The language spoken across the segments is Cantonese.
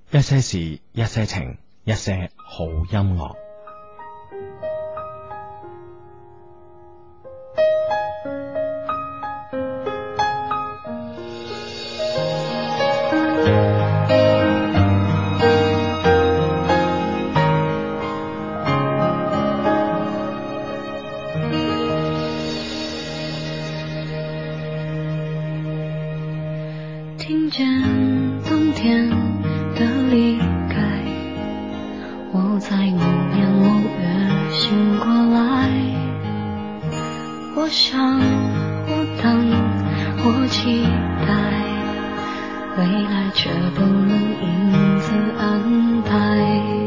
一些事，一些情，一些好音樂。 听见冬天的离开，我在某年某月醒过来。我想，我等，我期待，未来却不能因此安排。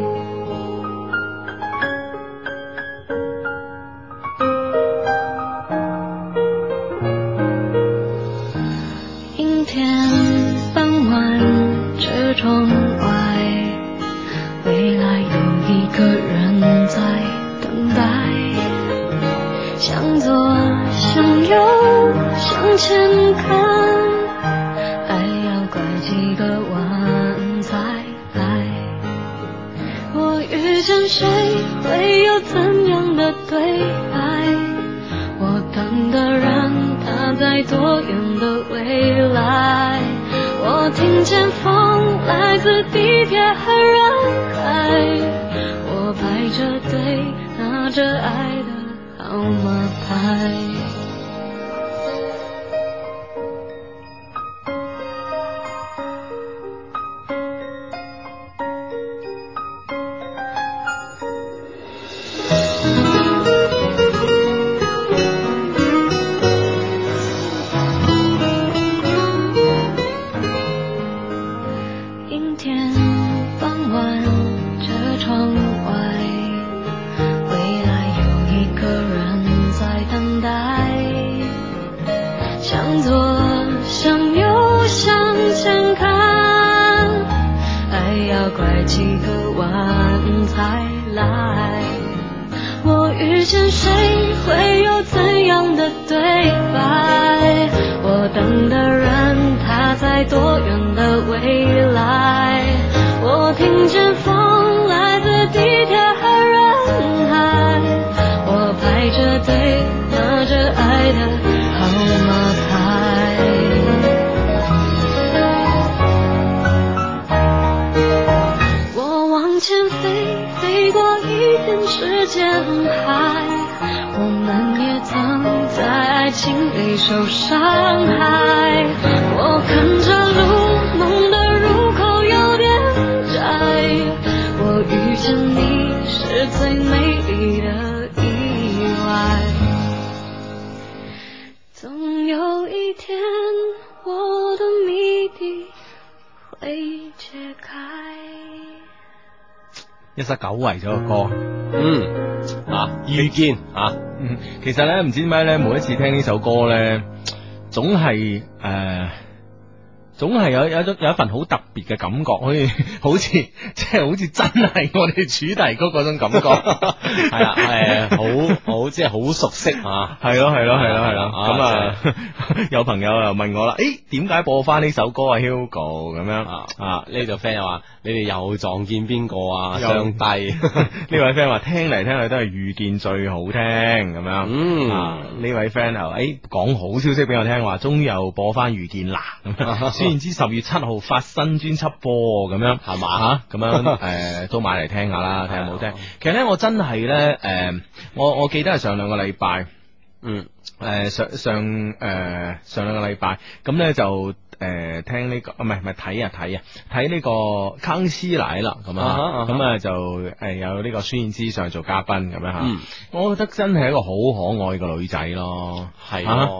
阴天傍晚，车窗外，未来有一个人在等待。向左，向右，向前看，还要拐几个弯才来。我遇见谁，会有怎样的对白？我等的人，他在多远的未来？我听见风来自地铁和人海，我排着队拿着爱的号码牌。阴天傍晚，车窗外，未来有一个人在等待。向左，向右，向前看，还要拐几个弯才来。我遇见谁，会有怎样的对白？我等的人，他在多远的未来？我听见风来自地铁和人海，我排着队拿着爱的号码牌。我往前飞，飞过一片时间海，我们也曾在爱情里受伤害。我看着路，梦的入口有点窄，我遇见你是最美丽的意外。总有一天，我的谜底会解开。 一首久違咗嘅歌， 遇見其實咧唔知點解咧，每一次聽呢首歌咧，總係有一份好特別嘅感覺，好似真係我哋主題曲嗰種感覺， 係啦，好即係好熟悉啊， 係咯，咁啊，有朋友又問我啦，點解播翻呢首歌啊 Hugo 咁樣呢個 friend 又話你哋又撞見邊個啊？上帝呢位 friend 話聽嚟聽去都係遇見最好聽咁樣，呢位 friend 又講好消息俾我聽，話終於又播翻遇見啦咁樣，雖然知10月7號發新專輯播咁樣係嘛咁樣都買嚟聽下啦，睇下有冇聽。其實咧我真係咧我記得係上兩個禮拜，上兩個禮拜咁咧就聽呢個唔係睇呢個康熙來啦咁啊就有呢個孫燕姿上做嘉賓咁樣吓，我覺得真係一個好可愛嘅女仔咯，係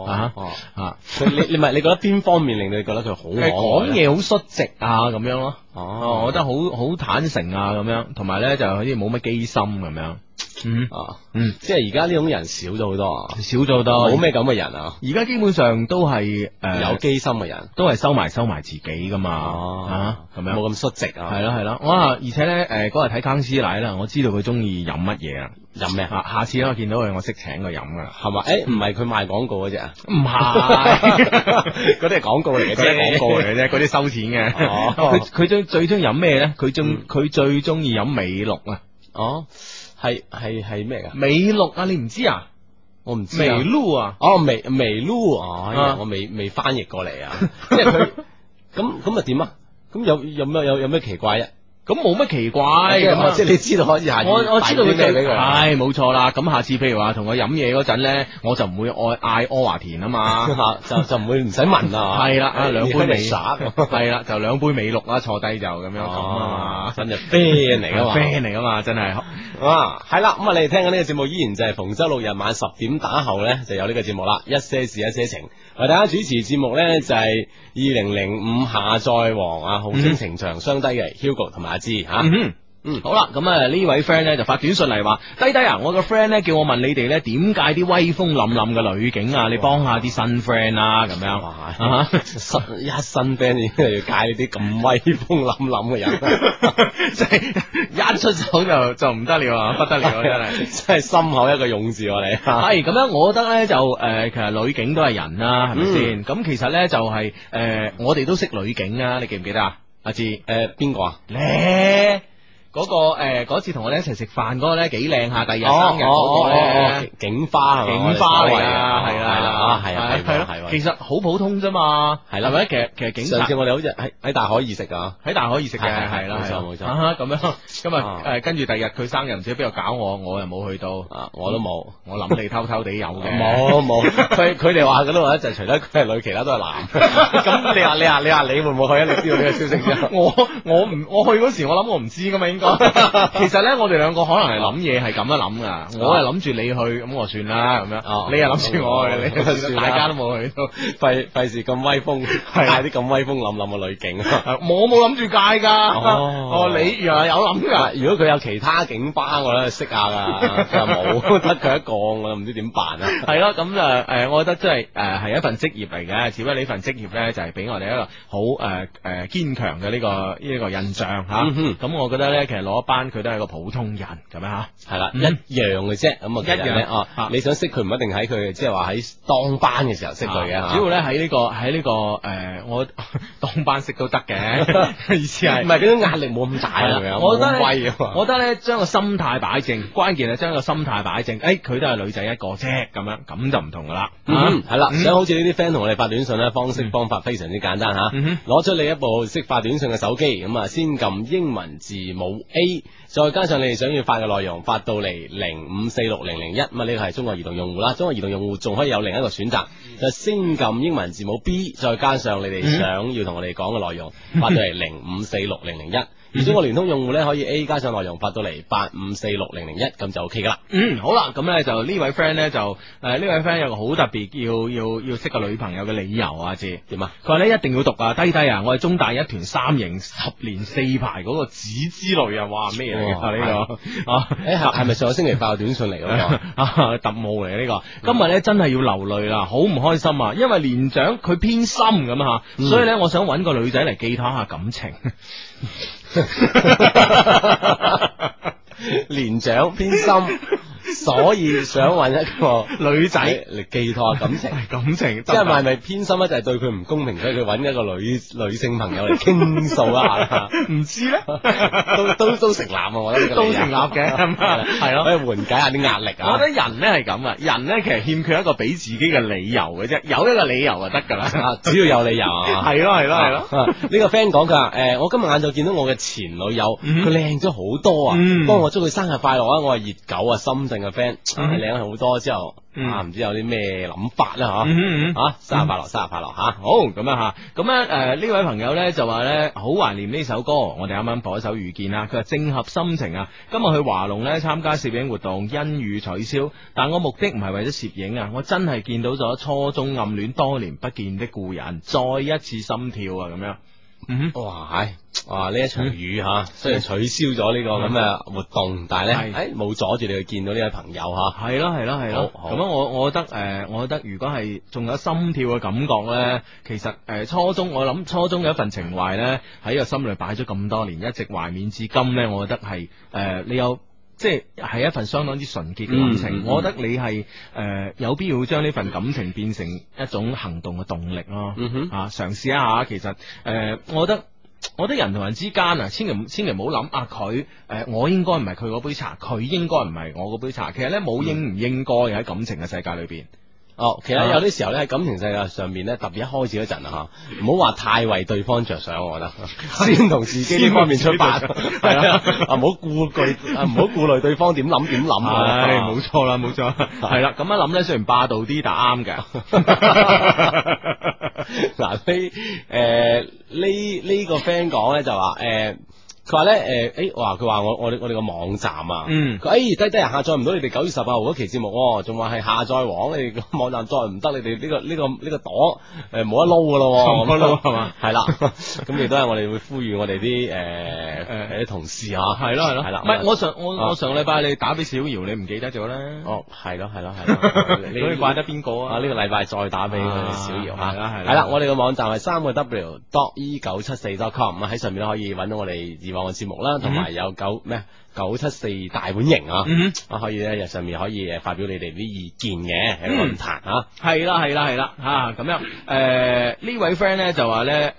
你覺得邊方面令你覺得佢好可愛？ 講嘢好率直啊咁樣咯，我覺得好坦誠啊咁樣，同埋咧就好似冇乜機心咁樣。 即係而家呢種人少咗好多，冇咩咁嘅人啊！ 而家基本上都係有機心嘅人， 都係收埋自己噶嘛，咁樣冇咁率直啊！ 係咯，哇！而且咧嗰日睇康師奶啦，我知道佢中意飲乜嘢啊！ 飲咩？ 下次我見到佢，我識請佢飲噶， 係嘛？唔係佢賣廣告嗰隻啊？ 唔係， 嗰啲係廣告嚟嘅啫， 廣告嚟嘅啫，嗰啲收錢嘅。佢最中意飲咩咧？佢最中意飲美祿啊！ 哦，係咩噶？ 美祿啊，你唔知啊？ 我唔知美祿啊！ 哦，美祿哦，我未翻譯過嚟啊！即係佢咁啊點啊？咁有咩奇怪啫？ 咁冇乜奇怪， 即係你知道可以下次我知道佢咩俾佢， 係冇錯啦。咁下次譬如話同佢飲嘢嗰陣咧，我就唔會嗌阿華田啊嘛， 就唔會唔使問啊。 係啦，兩杯美耍係啦，就兩杯美祿啦，坐低就咁樣咁啊嘛， 真係 friend 嚟噶嘛 ，friend 嚟噶嘛，真係啊，係啦。咁啊，你哋聽緊呢個節目依然就係逢周六日晚10點打後咧就有呢個節目啦，一些事一些情。為大家主持節目咧就係2005下載王啊，號稱情長相低嘅 Hugo 同埋阿芝吓。 好啦，咁呢位 friend 咧就發短信嚟話，低啊，我個 friend 咧叫我問你哋咧點解啲威風凜凜嘅女警啊，你幫下啲新 friend 啦，咁樣新 friend 已經要介呢啲咁威風凜凜嘅人， 即係一出手就唔得了啊，不得了真係， 真係心口一個勇字喎你。 係咁樣，我覺得咧就其實女警都係人啦，係咪先？咁其實咧就係我哋都識女警啊，你記唔記得啊？阿志邊個啊？ 咧。嗰次同我哋一齊食飯嗰個咧幾靚下，第二日生日嗰個咧警花係嘛？ 警花嚟啊，係啦， 係咯， 其實好普通啫嘛，係啦，咪其實警察上次我哋好似喺大海兒食啊， 喺大海兒食嘅，係啦， 冇錯， 咁樣今日跟住第二日佢生日唔知邊度搞我又冇去到， 我都冇， 我諗你偷偷地有嘅， 冇，佢哋話嗰度話就除咗佢係女，其他都係男，咁你話你會唔會去啊？你知道呢個消息之後， 我去嗰時我諗我唔知噶嘛應該。其實咧，我哋兩個可能係諗嘢係咁樣諗噶，我係諗住你去，咁我算啦咁樣。你又諗住我去，你算大家都冇去到， 費事咁威風，帶啲咁威風凜凜嘅女警。 我冇諗住戒噶，你原來有諗噶。 如果佢有其他警巴，我咧識下噶，佢又冇，得佢一個，我唔知點辦啊。 係咯，咁就我覺得即係係一份職業嚟嘅，只不過呢份職業咧就係俾我哋一個好堅強嘅呢個印象吓。咁我覺得咧，其實攞班佢都係個普通人咁樣吓，係啦，一樣嘅啫。咁啊，一樣咧，你想識佢唔一定喺佢即係話喺當班嘅時候識佢嘅， 主要咧喺呢個我當班識都得嘅，意思係唔係嗰種壓力冇咁大啊？ 我覺得咧將個心態擺正，關鍵係將個心態擺正。佢都係女仔一個啫，咁就唔同噶啦。 係啦，想好似呢啲 friend 同我哋發短信咧，方法非常之簡單吓，攞出你一部識發短信嘅手機，咁啊先撳英文字母 A， 再加上你哋想要發嘅內容，發到嚟05460001，咁啊呢個係中國移動用戶啦，中國移動用戶仲可以有另一個選擇，就先撳英文字母 B， 再加上你哋想要同我哋講嘅內容，發到嚟05460001。而中國聯通用戶咧可以 A 加上內容發到嚟85460001，咁就 OK 噶啦。 好啦，咁咧就呢位 friend 咧就呢位 friend 有個好特別要識個女朋友嘅理由啊，知點啊？佢話咧一定要讀啊，低啊！我係中大一團三型10年4排嗰個子之類啊，哇咩嚟㗎呢個？ 係咪上個星期發個短信嚟嗰個？ 特務嚟呢個，今日咧真係要流淚啦，好唔開心啊！因為連長佢偏心咁啊，所以咧我想揾個女仔嚟寄託下感情。連長偏心，所以想揾一個女仔嚟寄託感情，即係咪偏心咧？就係對佢唔公平，所以佢揾一個女性朋友嚟傾訴一下。唔知咧，都成立啊！我覺得都成立嘅，係咯，可以緩解下啲壓力啊！我覺得人咧係咁啊，人咧其實欠缺一個俾自己嘅理由嘅啫，有一個理由就得噶啦， 只要有理由啊！ 係咯。 呢個 friend 講佢話我今日晏晝見到我嘅前女友，佢靚咗好多啊！幫我祝佢生日快樂啊！我係熱狗啊，深圳嘅 friend， 靚咗好多之後唔知有啲咩諗法啦生日快樂，生日快樂吓！ 好咁樣吓，咁咧呢位朋友咧就話咧好懷念呢首歌，我哋啱啱播一首遇見啦。佢話正合心情啊，今日去華龍咧參加攝影活動，因遇取消，但我目的唔係為咗攝影啊，我真係見到咗初中暗戀多年不見的故人，再一次心跳啊咁樣。 哇！呢一場雨雖然取消咗呢個咁嘅活動，但係咧冇阻住你去見到呢位朋友吓。 係咯。咁樣我覺得如果係仲有心跳嘅感覺咧，其實我諗初中嘅一份情懷咧喺個心裏擺咗咁多年，一直懷緬至今咧，我覺得係你有即係一份相當之純潔嘅感情，我覺得你係有必要將呢份感情變成一種行動嘅動力咯。嘗試一下，其實我覺得人同人之間啊，千祈唔好諗啊佢我應該唔係佢嗰杯茶，佢應該唔係我嗰杯茶。其實咧冇應唔應該喺感情嘅世界裏邊。 其實有啲時候咧喺感情世界上面咧，特別一開始嗰陣啊，唔好話太為對方着想，我覺得先同自己呢方面出發，係啦，唔好顧慮對方點諗，係冇錯啦，冇錯，係啦，咁一諗咧雖然霸道啲，但啱嘅。 嗱呢個 friend 講咧就話佢話咧佢話我哋個網站啊，佢低下載唔到你哋9月18號嗰期節目，仲話係下載王，你哋個網站載唔得，你哋呢個朵冇得撈噶咯， 冇得撈係嘛？ 係啦，咁亦都係我哋會呼籲我哋啲啲同事啊，係咯， 唔係我上個禮拜你打俾小姚，你唔記得咗咧？ 係咯， 你怪得邊個啊？ 呢個禮拜再打俾小姚吓， 係啦，我哋個網站係3w.e974.com，喺上面都可以揾到我哋網嘅節目啦，同埋有974大本營啊，可以咧，上面可以發表你哋啲意見嘅喺論壇啊，係啦吓，咁樣呢位 friend 咧就話咧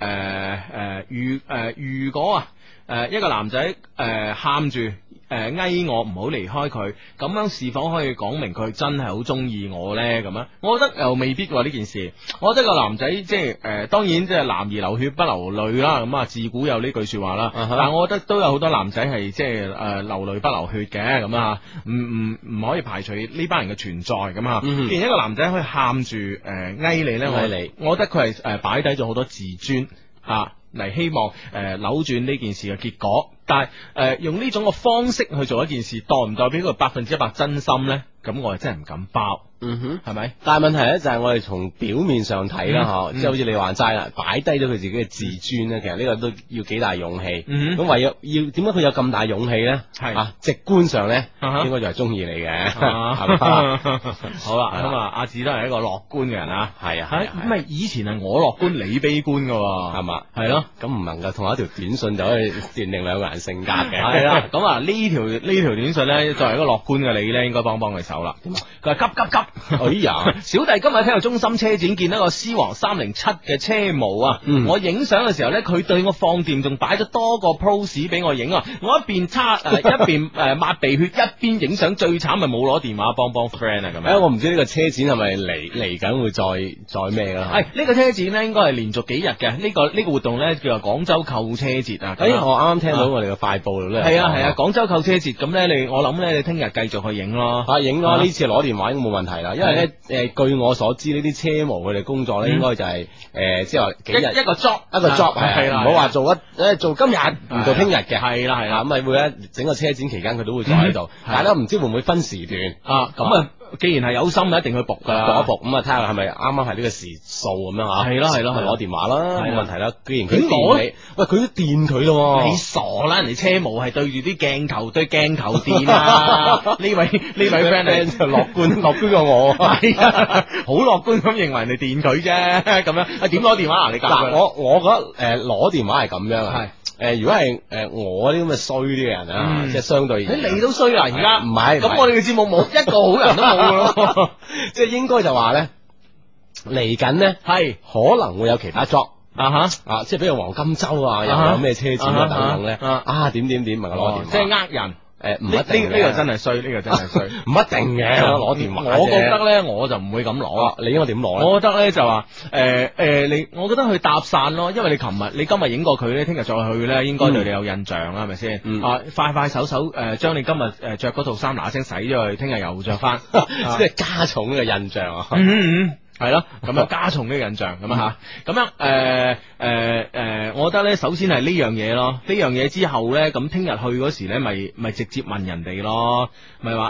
如果一個男仔喊住嗌我唔好離開佢，咁樣是否可以講明佢真係好中意我呢？咁樣，我覺得又未必喎呢件事。我覺得個男仔即係當然即係男兒流血不流淚啦，咁啊自古有呢句說話啦。但係我覺得都有好多男仔係即係流淚不流血嘅，咁啊，唔可以排除呢班人嘅存在咁啊。既然一個男仔可以喊住嗌你呢，我覺得佢係擺低咗好多自尊嚟希望扭轉呢件事嘅結果，但係用呢種嘅方式去做一件事，代唔代表佢100%真心呢？咁我係真係唔敢包。係咪？但係問題咧就係我哋從表面上睇啦，即係好似你話齋啦，擺低咗佢自己嘅自尊咧，其實呢個都要幾大勇氣。咁唯有點解佢有咁大勇氣咧？係直觀上咧，應該就係中意你嘅，係嘛？ 好啦，咁阿志都係一個樂觀嘅人啊， 係啊， 咁咪以前係我樂觀，你悲觀噶， 係嘛？ 係咯， 咁唔能夠同一條短信就可以斷定兩個人性格嘅。 係啦，咁呢條短信咧，作為一個樂觀嘅你咧，應該幫佢手啦。佢話急！ 哎呀， 小弟今日聽到中心車展見到個獅王307嘅車模啊，我影相嘅時候咧，佢對我放電，仲擺咗多個 pose 俾我影啊！我一邊一邊抹鼻血，一邊影相，最慘咪冇攞電話幫 friend 啊咁樣。 我唔知呢個車展係咪嚟緊會再咩啦？ 呢個車展咧應該係連續幾日嘅，呢個活動咧叫做廣州購車節啊。 我啱啱聽到我哋嘅快報度咧， 係啊，廣州購車節，咁咧我諗咧你聽日繼續去影咯， 影咯，呢次攞電話應該冇問題啦，因為咧據我所知呢啲車模佢哋工作咧應該就係即係話幾日一個 job 係啦，唔好話做今日唔做聽日嘅，係啦，咁咪會咧整個車展期間佢都會坐喺度，大家唔知會唔會分時段咁啊。既然係有心，一定去搏噶啦， 搏咁啊，睇下係咪啱啱係呢個時數咁樣吓。 係咯， 攞電話啦，冇問題啦。既然佢電你，喂，佢都電佢咯。 你傻啦，人哋車模係對住啲鏡頭對鏡頭電啊！呢位 friend 咧就樂觀過我，係好樂觀咁認為人哋電佢啫，咁樣點攞電話啊？你嗱， 我覺得攞電話係咁樣啊。如果係我啲咁嘅衰啲嘅人啊，即係相對你都衰啦，而家唔係， 咁我哋嘅節目冇一個好人都冇噶咯， 即係應該就話咧嚟緊咧係可能會有其他 job 即係比如黃金周啊，又有咩車展啊等等咧點問我攞電話， 即係呃人。 唔一定， 呢個真係衰，唔一定嘅攞電話。我覺得咧，我就唔會咁攞。 你應該點攞咧？ 我覺得咧就話我覺得去搭訕咯，因為你今日影過佢咧，聽日再去咧，應該對你有印象啦，係咪先？快手將你今日着嗰套衫嗱聲洗咗去，聽日又着翻， 即係加重呢個印象啊！ 係咯，咁樣加重呢個印象咁啊吓，咁樣我覺得咧，首先係呢樣嘢咯，呢樣嘢之後咧，咁聽日去嗰時咧，咪直接問人哋咯，咪話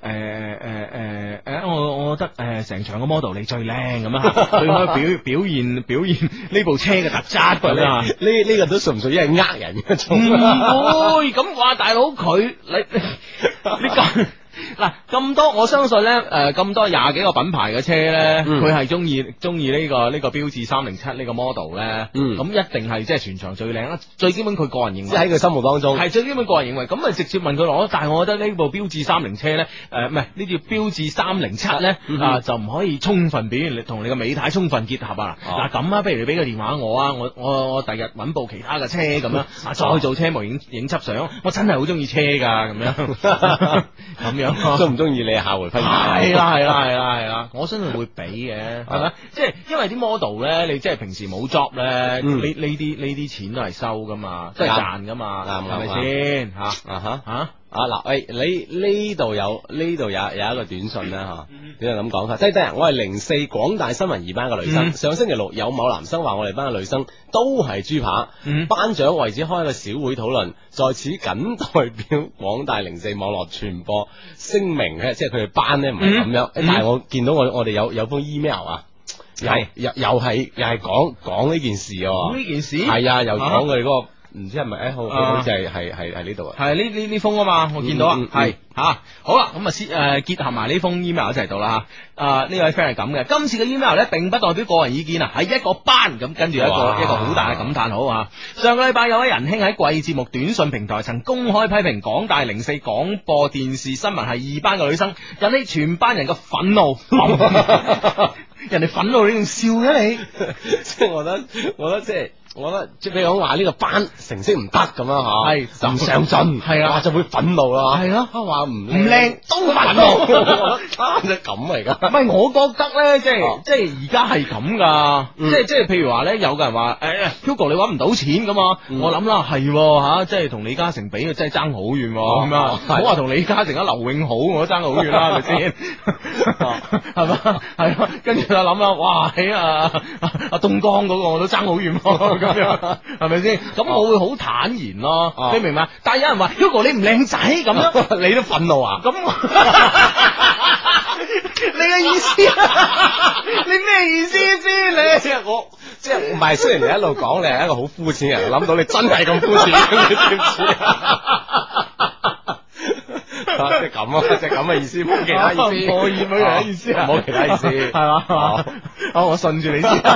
我覺得成場嘅 model 你最靚咁啊，對開表現呢部車嘅特質咁啊， 呢個都屬唔屬於係呃人嘅種？ 唔會咁話，大佬佢你嗱咁多，我相信咧咁多廿幾個品牌嘅車咧，佢係中意呢個標致307呢個 model 咧，咁一定係即係全場最靚啦。最基本佢個人認為， 即係喺佢心目當中係最基本個人認為，咁咪直接問佢攞。但係我覺得呢部標致30車咧，唔係呢條標致307咧就唔可以充分表現同你個美太充分結合啊！嗱咁啊，不如你俾個電話我啊，我第日揾部其他嘅車咁樣，再做車模影輯相，我真係好中意車㗎咁樣，咁樣中唔中意你下回分解？ 係啦，我相信會俾嘅，係咪？即係因為啲 model 咧，你即係平時冇 job 咧，呢啲錢都係收㗎嘛，都係賺㗎嘛，係咪先嚇？ 嗱，你呢度有一個短信啦嚇，點解咁講法？低低啊，我係04廣大新聞2班嘅女生，上星期六有某男生話我哋班嘅女生都係豬扒，班長為此開一個小會討論，在此僅代表廣大04網絡傳播聲明咧，即係佢哋班咧唔係咁樣，但係我見到我哋有封 email 啊。又係講呢件事喎，呢件事係啊，又講佢哋嗰個唔知係咪好似係呢度啊， 係呢封啊嘛，我見到啊，係好啦，咁啊先結合埋呢封 email 一齊讀啦吓，呢位 friend 係咁嘅，今次嘅 email 咧並不代表個人意見啊，係一個班咁，跟住一個好大嘅感嘆號啊！上個禮拜有位仁兄喺貴節目短信平台曾公開批評廣大04廣播電視新聞係2班嘅女生，引起全班人嘅憤怒。人哋憤怒你仲笑嘅你， 即係我覺得即係譬如講話呢個班成績唔得咁樣吓，係就唔上進，係啊，就會憤怒啦，係咯，話唔靚都憤怒， 就咁嚟噶。 唔係，我覺得咧，即係而家係咁噶，即係譬如話咧，有個人話Hugo 你搵唔到錢噶嘛，我諗啦係吓，即係同李嘉誠比，真係爭好遠咁樣，唔好話同李嘉誠啊劉永好，我都爭好遠啦，係咪先？係嘛，係咯，跟住就諗啦，哇喺阿東江嗰個我都爭好遠。咁樣係咪先？咁我會好坦然咯，你明白？但係有人話 Hugo 你唔靚仔咁樣， 你都憤怒啊？ 咁你嘅意思？你咩意思先？你即係我即係唔係？雖然你一路講你係一個好膚淺嘅人，諗到你真係咁膚淺，你知唔知啊？即係咁啊，即係咁嘅意思，冇其他意思， 冇其他意思啊， 冇其他意思， 係嘛？好，我順住你先。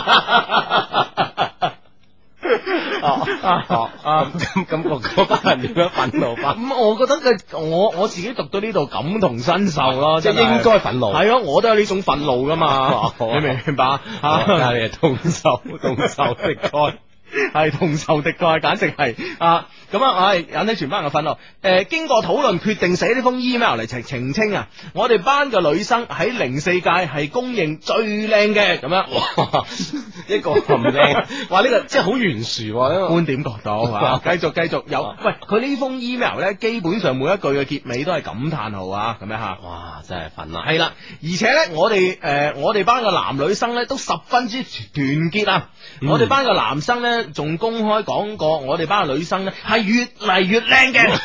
咁嗰班人點樣憤怒法？ 咁我覺得我自己讀到呢度感同身受咯， 即係應該憤怒。 係咯，我都有呢種憤怒噶嘛，你明唔明白？ 但係你係同仇敵愾。 係同仇敵愾，簡直係咁啊！引起全班人嘅憤怒。經過討論，決定寫呢封 email 嚟澄清啊！我哋班嘅女生喺04屆係公認最靚嘅，咁樣。哇！ 一個咁靚，哇！呢個即係好懸殊喎， 觀點角度啊！繼續有。喂，佢呢封 email 咧，基本上每一句嘅結尾都係感嘆號啊！咁樣吓。 哇！真係憤啊！ 係啦，而且咧，我哋班嘅男女生咧都十分之團結啊！我哋班嘅男生咧，仲公開講過，我哋班嘅女生咧係越嚟越靚嘅，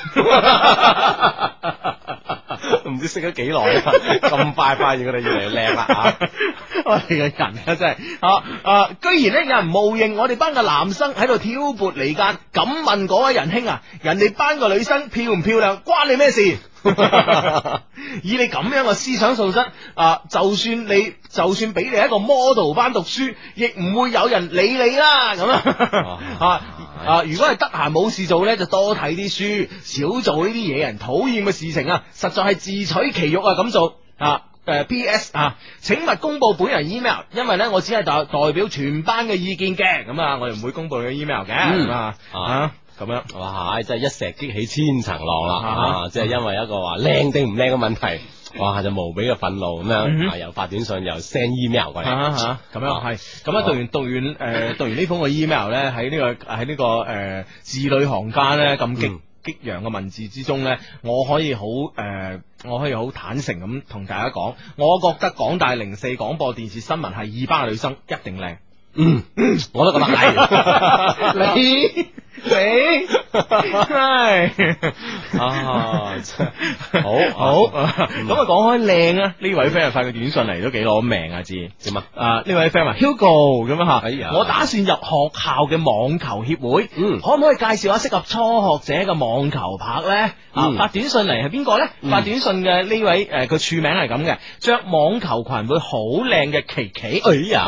唔知識咗幾耐啊！咁快發現佢哋越嚟越靚啦嚇！ 我哋嘅人啊真係居然咧有人冒認我哋班嘅男生喺度挑撥離間，咁問嗰位仁兄啊，人哋班嘅女生漂唔漂亮關你咩事？以你咁樣嘅思想素質就算俾你一個 model 班讀書，亦唔會有人理你啦咁如果係得閒冇事做呢，就多睇啲書，少做呢啲惹人討厭嘅事情啊！實在係自取其辱啊！咁做P.S. 請勿公布本人 email， 因為呢，我只係代表全班嘅意見嘅，咁我哋唔會公布你嘅 email 嘅，咁樣， 哇！真係一石激起千層浪啦，即係因為一個話靚定唔靚嘅問題，哇！就無比嘅憤怒咁樣，又發短信又 send email 過嚟， 咁樣係，咁樣讀完呢封嘅 email 咧，喺呢個字裏行間咧咁激揚嘅文字之中咧，我可以好坦誠咁同大家講，我覺得廣大04廣播電視新聞係2班嘅女生一定靚， 我都覺得係， 你係啊，好咁啊講開靚啊，呢位 friend 發個短信嚟都幾攞命啊，知點啊？ 呢位 friend 話 Hugo 咁啊哎呀我打算入學校嘅網球協會，可唔可以介紹下適合初學者嘅網球拍咧？發短信嚟係邊個咧？發短信嘅呢位佢署名係咁嘅，着網球裙會好靚嘅琪琪。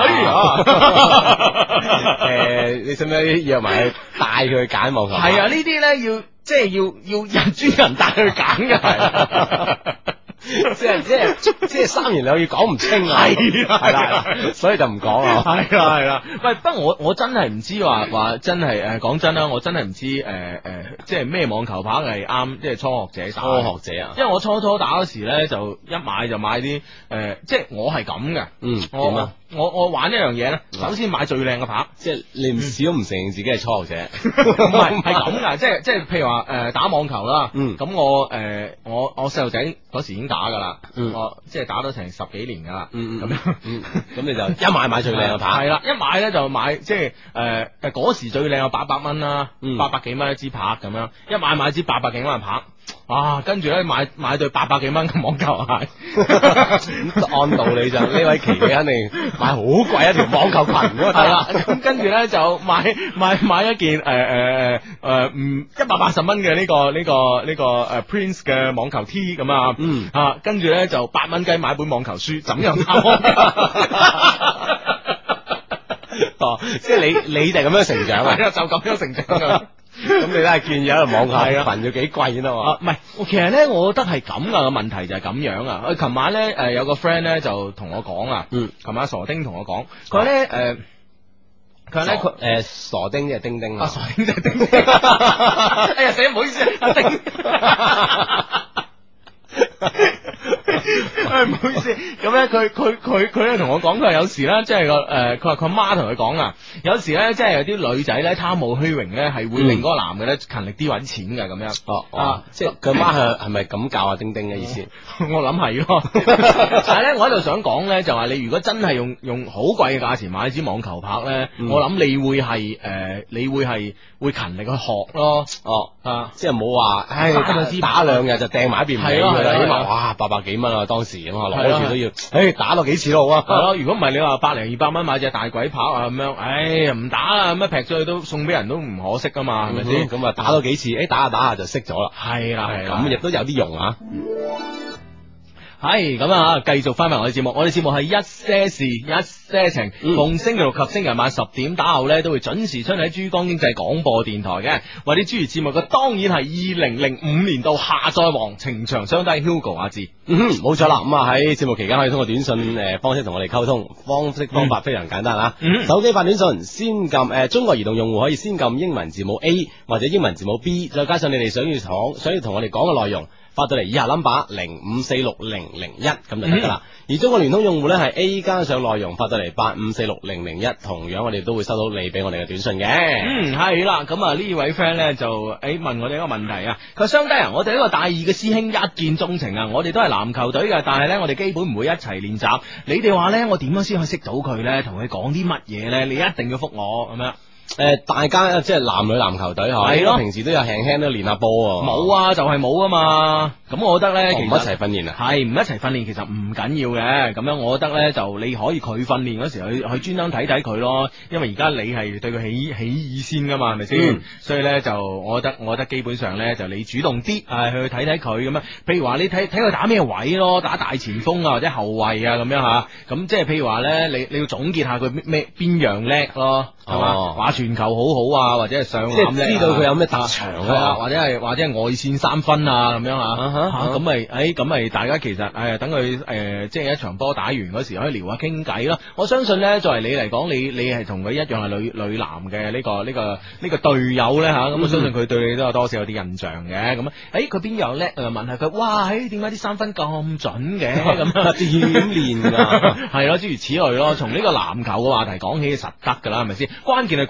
你使唔使約埋去帶佢去揀網球？ 係啊，呢啲咧要即係要人專人帶佢揀嘅，係。 即係三言兩語講唔清啊，係啦，所以就唔講啊， 係啦，喂，不過我真係唔知話真係講真啦，我真係唔知即係咩網球拍係啱，即係初學者打。初學者啊，因為我初打嗰時咧就一買就買啲即係我係咁嘅，我玩一樣嘢咧，首先買最靚嘅拍，即係你唔試都唔承認自己係初學者，唔係咁噶，即係譬如話打網球啦，咁我細路仔嗰時已經打噶啦，我即係打咗成10幾年噶啦，咁樣，咁你就一買最靚嘅拍，係啦，一買咧就買即係嗰時最靚嘅800蚊啦，800幾蚊一支拍咁樣，一買支800幾蚊嘅拍。跟住咧買對800幾蚊嘅網球鞋，按道理就呢位琪琪肯定買好貴一條網球裙嗰個係啦，咁跟住咧就買一件180蚊嘅呢個 Prince 嘅網球 T 咁啊，跟住咧就8蚊雞買本網球書，怎樣打網球？ 即係你就係咁樣成長啊， 就咁樣成長噶。 咁你都係見有一個網球裙要幾貴先得嘛？ 唔係，其實咧，我覺得係咁噶，個問題就係咁樣啊。佢琴晚咧，有個 friend 咧就同我講啊，琴晚傻丁同我講，佢話咧，佢傻丁即係丁丁傻丁即係丁丁。哎呀，死唔好意思，阿丁。唔好意思，咁咧佢咧同我講，佢話有時咧，即係佢話佢媽同佢講啊，有時咧，即係有啲女仔咧貪慕虛榮咧，係會令嗰個男嘅咧勤力啲搵錢嘅咁樣。 即係佢媽係咪咁教阿丁丁嘅意思？ 我諗係咯，但係咧，我喺度想講咧，就話你如果真係用好貴嘅價錢買支網球拍咧，我諗你會係會勤力去學咯。 即係冇話，打2日就掟埋一邊唔理佢啦，起碼哇800幾蚊啊，當時咁啊攞住都要，打落幾次咯啊！ 係咯，如果唔係你話100、200蚊買隻大鬼拍啊咁樣，唔打啦，咁劈咗去都送俾人都唔可惜噶嘛，係咪先？ 咁啊打多幾次，打下就識咗啦。 係啦， 咁亦都有啲用啊。 係咁啊！繼續翻埋我哋節目，我哋節目係一些事一些情，逢星期六及星期日晚10點打後咧，都會準時出喺珠江經濟廣播電台嘅。為你主持節目嘅當然係2005年度下載王情長相低 Hugo 阿志。 冇錯啦。咁啊喺節目期間可以通過短信方式同我哋溝通，方法非常簡單啊。手機發短信先撳中國移動用戶可以先撳英文字母 A 或者英文字母 B， 再加上你哋想要同我哋講嘅內容。發到嚟以下 number 05460001咁就得噶啦。而中國聯通用戶呢係 A 加上內容發到嚟85460001，同樣我哋都會收到你俾我哋嘅短信嘅。 係啦，咁啊呢位 friend 呢就問我哋一個問題啊，佢話相低啊，我哋一個大二嘅師兄一見鍾情啊，我哋都係籃球隊嘅，但係呢我哋基本唔會一齊練習。你哋話呢，我點樣先可以識到佢呢？同佢講啲乜嘢呢？你一定要覆我咁樣。 大家即係男女籃球隊係咯，平時都有輕輕都練下波。 冇啊，就係冇啊嘛。咁我覺得咧，其實唔一齊訓練啊， 係唔一齊訓練，其實唔緊要嘅。咁樣我覺得咧，就你可以佢訓練嗰時去專登睇睇佢咯。因為而家你係對佢起意先噶嘛，係咪先？所以咧就我覺得基本上咧就你主動啲去睇睇佢咁樣。譬如話你睇佢打咩位咯，打大前鋒啊或者後衛啊咁樣吓。咁即係譬如話咧，你要總結下佢邊樣叻咯，係嘛？話傳球好好啊，或者係上籃即係知道佢有咩特長啊， 或者係外線3分啊咁樣啊。咁咪大家其實等佢即係一場波打完嗰時可以聊下傾偈咯。我相信咧，作為你嚟講，你係同佢一樣係女籃嘅呢個隊友咧吓，咁我相信佢對你都有多少有啲印象嘅。咁佢邊樣叻？問下佢，哇，點解啲3分咁準嘅？咁點練噶？係咯，諸如此類咯。從呢個籃球嘅話題講起，實得噶啦，係咪先？關鍵係估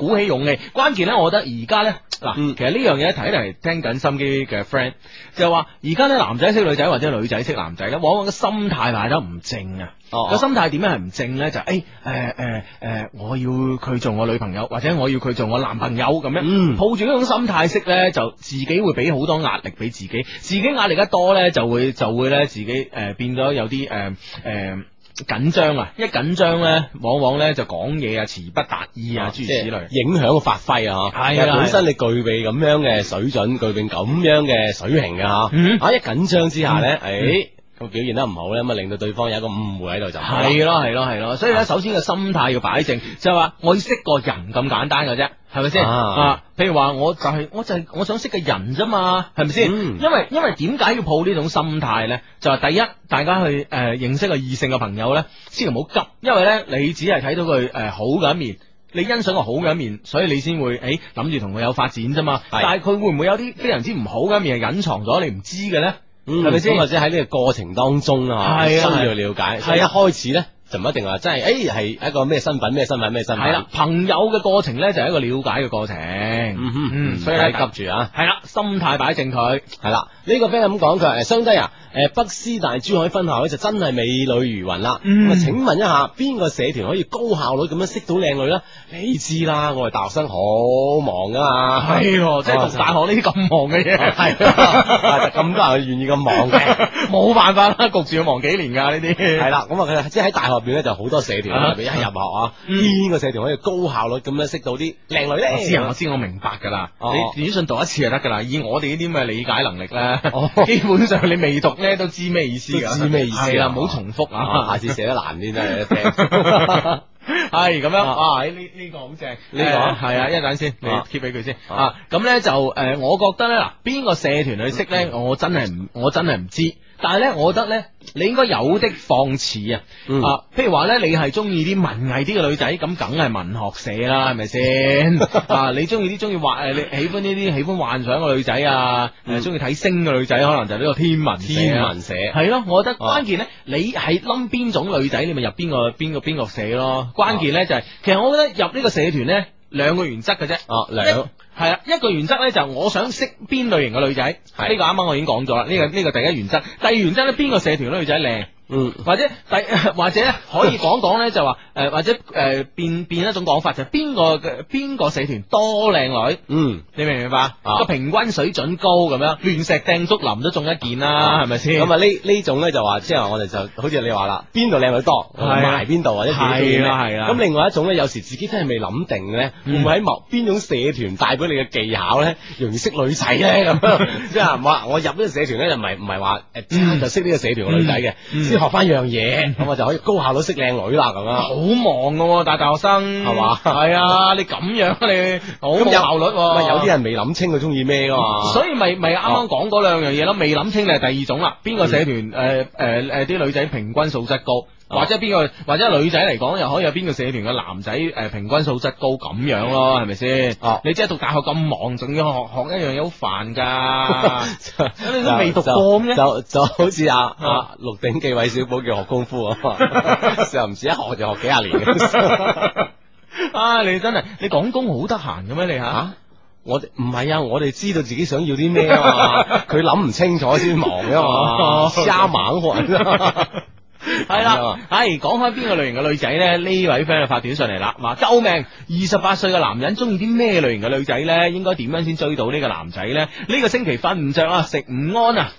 鼓起勇氣。關鍵咧，我覺得而家咧嗱，其實呢樣嘢睇嚟聽緊心機嘅 friend 就係話，而家咧男仔識女仔或者女仔識男仔咧，往往個心態擺得唔正啊。個心態點樣係唔正咧？就我要佢做我女朋友，或者我要佢做我男朋友咁樣，抱住呢種心態識咧，就自己會俾好多壓力俾自己，自己壓力一多咧，就會咧自己變咗有啲緊張啊！一緊張咧，往往咧就講嘢啊，詞不達意啊，諸如此類， 影響個發揮啊！係啊，本身你具備咁樣嘅水準，具備咁樣嘅水平嘅吓，一緊張之下咧，咁表現得唔好咧，咁啊令到對方有一個誤會喺度就係咯，所以咧首先個心態要擺正，就係話我要識個人咁簡單嘅啫，係咪先？譬如話我我想識個人啫嘛，係咪先？因為點解要抱呢種心態咧？就係第一，大家去認識個異性嘅朋友咧，千祈唔好急，因為咧你只係睇到佢好嘅一面。你欣賞個好嘅一面，所以你先會諗住同佢有發展啫嘛。但係佢會唔會有啲非常之唔好嘅一面係隱藏咗你唔知嘅咧？係咪先？或者喺呢個過程當中需要了解。所以一開始咧就唔一定話真係係一個咩身份。係啦，朋友嘅過程咧就係一個了解嘅過程。所以咧急住啊。係啦，心態擺正佢。係啦，呢個 friend 咁講，佢話雙低啊，北師大珠海分校咧就真係美女如雲啦。咁啊，請問一下，邊個社團可以高效率咁樣識到靚女咧？你知啦，我哋大學生好忙噶嘛。係，即係讀大學呢啲咁忙嘅嘢，係咁多人願意咁忙嘅，冇辦法啦，焗住要忙幾年噶呢啲。係啦，咁啊，即係喺大學入邊咧就好多社團，特別一入學邊個社團可以高效率咁樣識到啲靚女咧？我知，我明白噶啦。你短信讀一次就得噶啦，以我哋呢啲咁嘅理解能力咧，基本上你未讀咧都知咩意思噶。知咩意思？係啦，唔好重複啊，下次寫得難啲真係一聽。係咁樣啊！呢個好正，呢個係啊，一陣先，你 keep 俾佢先啊。咁咧就我覺得咧嗱，邊個社團去識咧，我真係唔知。但係咧，我覺得咧，你應該有的放矢啊！譬如話咧，你係中意啲文藝啲嘅女仔，咁梗係文學社啦，係咪先？你中意啲你喜歡呢啲喜歡幻想嘅女仔啊，中意睇星嘅女仔，可能就呢個天文社。係咯，我覺得關鍵咧，你係諗邊種女仔，你咪入邊個社咯。關鍵咧就係，其實我覺得入呢個社團咧，兩個原則嘅啫。係啦，一個原則咧就我想識邊類型嘅女仔，呢個啱啱我已經講咗啦。呢個第一原則，第二原則咧，邊個社團嘅女仔靚，或者可以講咧就話或者變一種講法，就係邊個社團多靚女，你明唔明白？個平均水準高咁樣，亂石掟竹林都中一件啦，係咪先？咁啊呢種咧就話，即係我哋就好似你話啦，邊度靚女多，埋邊度或者係啦。咁另外一種咧，有時自己真係未諗定咧，會唔會喺某邊種社團帶俾你嘅技巧咧，容易識女仔咧咁樣？即係話我入呢個社團咧，就唔係話就識呢個社團嘅女仔嘅，先學翻樣嘢，咁我就可以高效率識靚女啦咁樣。好忙噶，大學生係嘛？係啊，你咁樣你好冇效率。有啲人未諗清佢中意咩噶嘛，所以咪啱啱講嗰兩樣嘢咯。未諗清就係第二種啦。邊個社團啲女仔平均素質高？或者女仔嚟講，又可以有邊個社團嘅男仔平均素質高咁樣咯，係咪先？你即係讀大學咁忙，仲要學一樣嘢好煩噶，你都未讀過咩？就好似《鹿鼎記》韋小寶叫學功夫啊，又唔似一學就學幾廿年嘅。你真係你講工好得閒嘅咩？你我哋唔係啊，我哋知道自己想要啲咩啊嘛，佢諗唔清楚先忙噶嘛，瞎猛學。係啦，講開邊個類型嘅女仔咧？呢位 friend 就發短信嚟啦，話救命！28歲嘅男人中意啲咩類型嘅女仔咧？應該點樣先追到呢個男仔咧？呢個星期瞓唔着啊，食唔安啊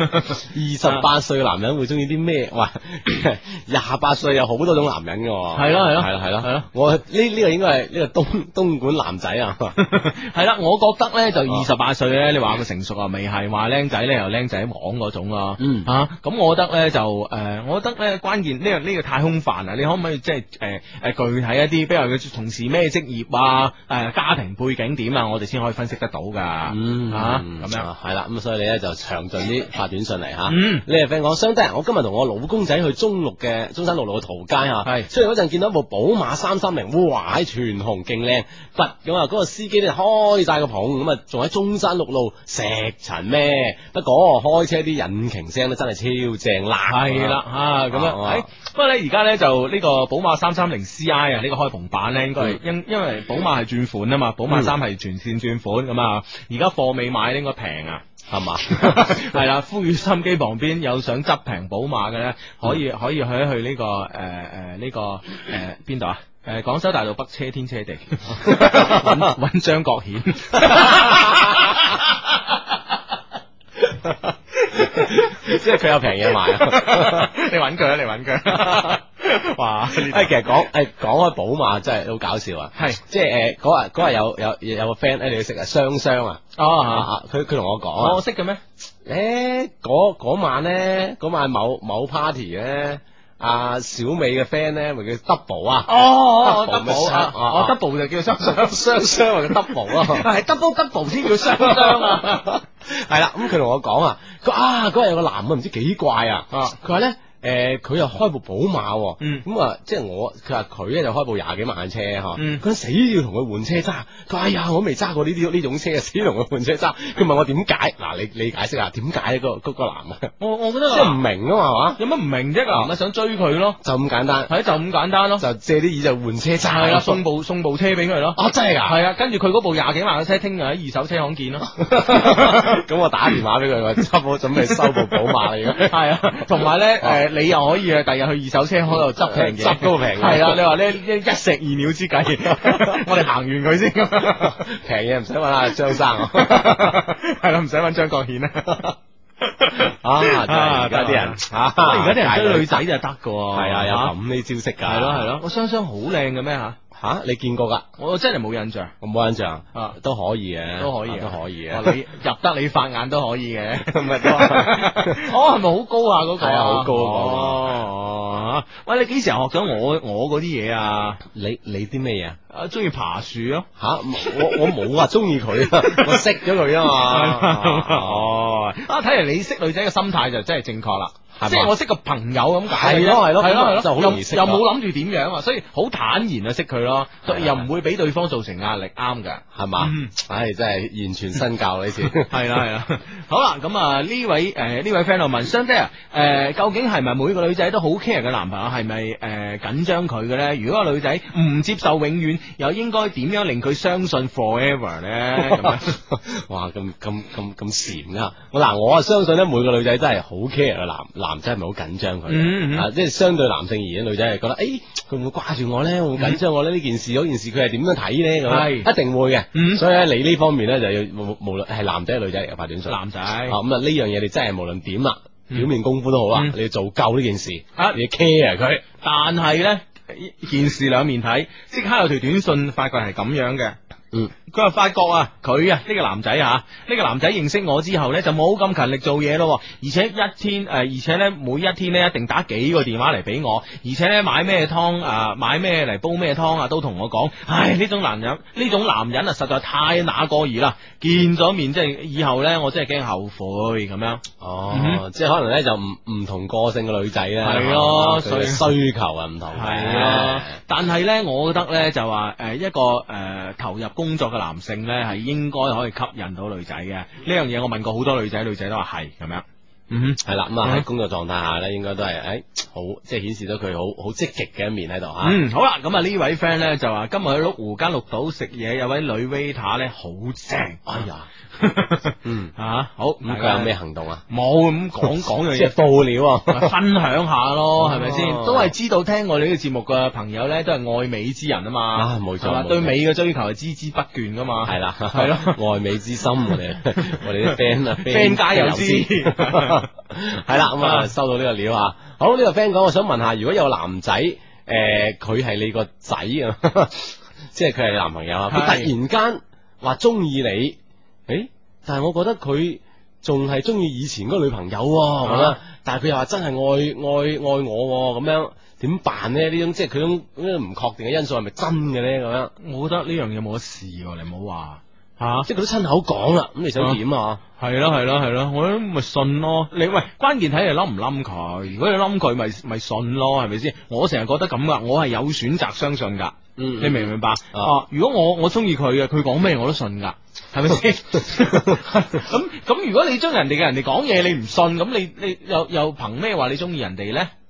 ！28歲嘅男人會中意啲咩？哇！28歲有好多種男人噶，係咯，我呢個應該係呢個東莞男仔啊，係啦，我覺得咧就28歲咧，你話佢成熟啊，未係話僆仔咧又僆仔網嗰種咯，咁我覺得咧就我覺得咧關鍵呢個太空泛啦，你可唔可以即係具體一啲，比如佢從事咩職業啊，家庭背景點啊，我哋先可以分析得到噶，咁樣係啦，咁所以你咧就詳盡啲發短信嚟吓，呢個 friend 講，相當我今日同我老公仔去中山六路嘅桃街吓，係，所以嗰陣見到一部寶馬330，哇，喺全紅勁靚，咁啊嗰個司機咧開晒個棚，咁啊仲喺中山六路石塵咩？不過開車啲引擎聲咧真係超正啦，係啦咁樣。不過咧而家咧就呢個寶馬330CI 啊，呢個開篷版咧應該係因為寶馬係轉款啊嘛，寶馬3係全線轉款咁啊，而家貨未買應該平啊。 係嘛？ 係啦，呼籲心機旁邊有想執平寶馬嘅咧，可以去呢個呢個邊度啊？廣州大道北車天車地揾張國顯， 即係佢有平嘢賣啊！ 你揾佢啊！你揾佢。哇！其實講開寶馬真係好搞笑啊！ 係即係嗰日有個 friend 你識啊，雙雙啊！佢同我講啊， 我識嘅咩？ 嗰晚某 party 咧。阿小美嘅 friend 咧，咪叫 double 啊 ？double 就叫雙雙或者 double 咯，係 double 先叫雙雙啊！ 係啦，咁佢同我講啊，嗰日有個男嘅唔知幾怪啊，佢話咧。佢又開部寶馬，咁啊，即係佢話佢咧就開部20幾萬嘅車嗬，佢死要同佢換車揸，佢話哎呀，我未揸過呢種車，死同佢換車揸，佢問我點解？嗱，你解釋下點解嗰個男啊？ 我覺得即係唔明啊嘛，係嘛？ 有乜唔明啫？男啊想追佢咯， 就咁簡單， 係就咁簡單咯， 就借啲意就換車揸， 係啦，送部車俾佢咯。 哦，真係噶？ 係啊，跟住佢嗰部20幾萬嘅車，聽日喺二手車行見咯。 咁我打電話俾佢，我執好準備收部寶馬嚟嘅。 係啊，同埋咧，你又可以啊。日去二手車開度執平嘢， 執嗰個平係啦。你話呢一石二鳥之計，我哋行完佢先。 平嘢唔使揾阿張生， 係啦，唔使揾張國顯啊。 而家啲人， 而家啲人追女仔就得噶。 係啊，有咁呢招式噶。 係咯係咯，我雙雙好靚嘅咩吓？ 吓，你見過噶？ 我真係冇印象， 我冇印象都可以嘅， 都可以嘅。 你入得你法眼都可以嘅，咁咪係咪好高啊？嗰個係啊，好高哦。喂，你幾時學咗我嗰啲嘢啊？ 你啲咩嘢啊？中意爬樹咯？ 吓，我冇話中意佢啊，我識咗佢啊嘛。 哦，睇嚟你識女仔嘅心態就真係正確啦。即係我識個朋友咁解， 係咯，就好容易識， 又冇諗住點樣啊，所以好坦然啊識佢咯，又唔會俾對方造成壓力，啱噶， 係嘛？唉，真係完全身教呢次， 係啦，好啦，咁啊呢位 friend 就問相爹究竟係咪每個女仔都好 care 嘅男朋友係咪緊張佢嘅咧？如果個女仔唔接受永遠，又應該點樣令佢相信 forever 咧？咁樣， 哇，咁禪噶，我啊相信咧，每個女仔真係好 care 嘅男仔係咪好緊張佢？即係相對男性而言，女仔係覺得，佢會唔會掛住我咧？會唔會緊張我咧？呢件事嗰件事，佢係點樣睇咧？咁係一定會嘅。所以咧，你呢方面咧就要無論係男仔定女仔嚟嘅發短信。 男仔咁啊呢樣嘢你真係無論點啦，表面功夫都好啦，你要做夠呢件事，你要 care 佢。 但係咧，件事兩面睇，即刻有條短信發覺係咁樣嘅。佢話發覺佢呢個男仔呢個男仔認識我之後呢，就冇咁勤力做嘢咯，而且而且呢，每一天呢，一定打幾個電話嚟俾我，而且呢，買咩湯買咩嚟煲咩湯都同我講，唉，呢種男人啊實在太那個兒啦，見咗面即係以後呢，我真係驚後悔咁樣。 即係可能呢，就唔同個性嘅女仔呢， 係咯，所以需求啊唔同。 係咯，但係呢，我覺得呢，就話一個投入工作嘅男性呢，係應該可以吸引到女仔嘅。呢樣嘢我問過好多女仔，女仔都話係咁樣。係啦，咁喺工作狀態下呢，應該都係好，即係顯示到佢好積極嘅一面喺度吓。 好啦，咁呢位 friend 呢，就話今日去鹿湖間綠島食嘢，有位女 waiter 呢，好正。哎呀，好， 咁佢有咩行動啊？ 冇，咁講樣嘢， 即係報料分享下咯，係咪先？都係知道聽我哋呢個節目嘅朋友呢，都係愛美之人啊嘛。冇錯，對美嘅追求係孜孜不倦噶嘛。係啦，係咯， 愛美之心，我哋啲 friend 家有知。 係啦，咁收到呢個料啊。好，呢個 friend 講，我想問下，如果有男仔佢係你個仔啊，即係佢係你男朋友啊，佢突然間話中意你，但係我覺得佢仲係中意以前嗰個女朋友咁樣，但係佢又話真係愛我咁樣，點辦呢？呢種即係佢種唔確定嘅因素係咪真嘅咧？咁樣， 我覺得呢樣嘢冇得試，你唔好話。 即係佢都親口講啦，咁你想點啊？ 係咯，我都咪信咯。你喂，關鍵睇你冧唔冧佢。如果你冧佢，咪信咯，係咪先？我成日覺得咁噶，我係有選擇相信噶。你明唔明白？如果我中意佢嘅，佢講咩我都信噶，係咪先？咁如果你將人哋講嘢你唔信，咁你又憑咩話你中意人哋咧？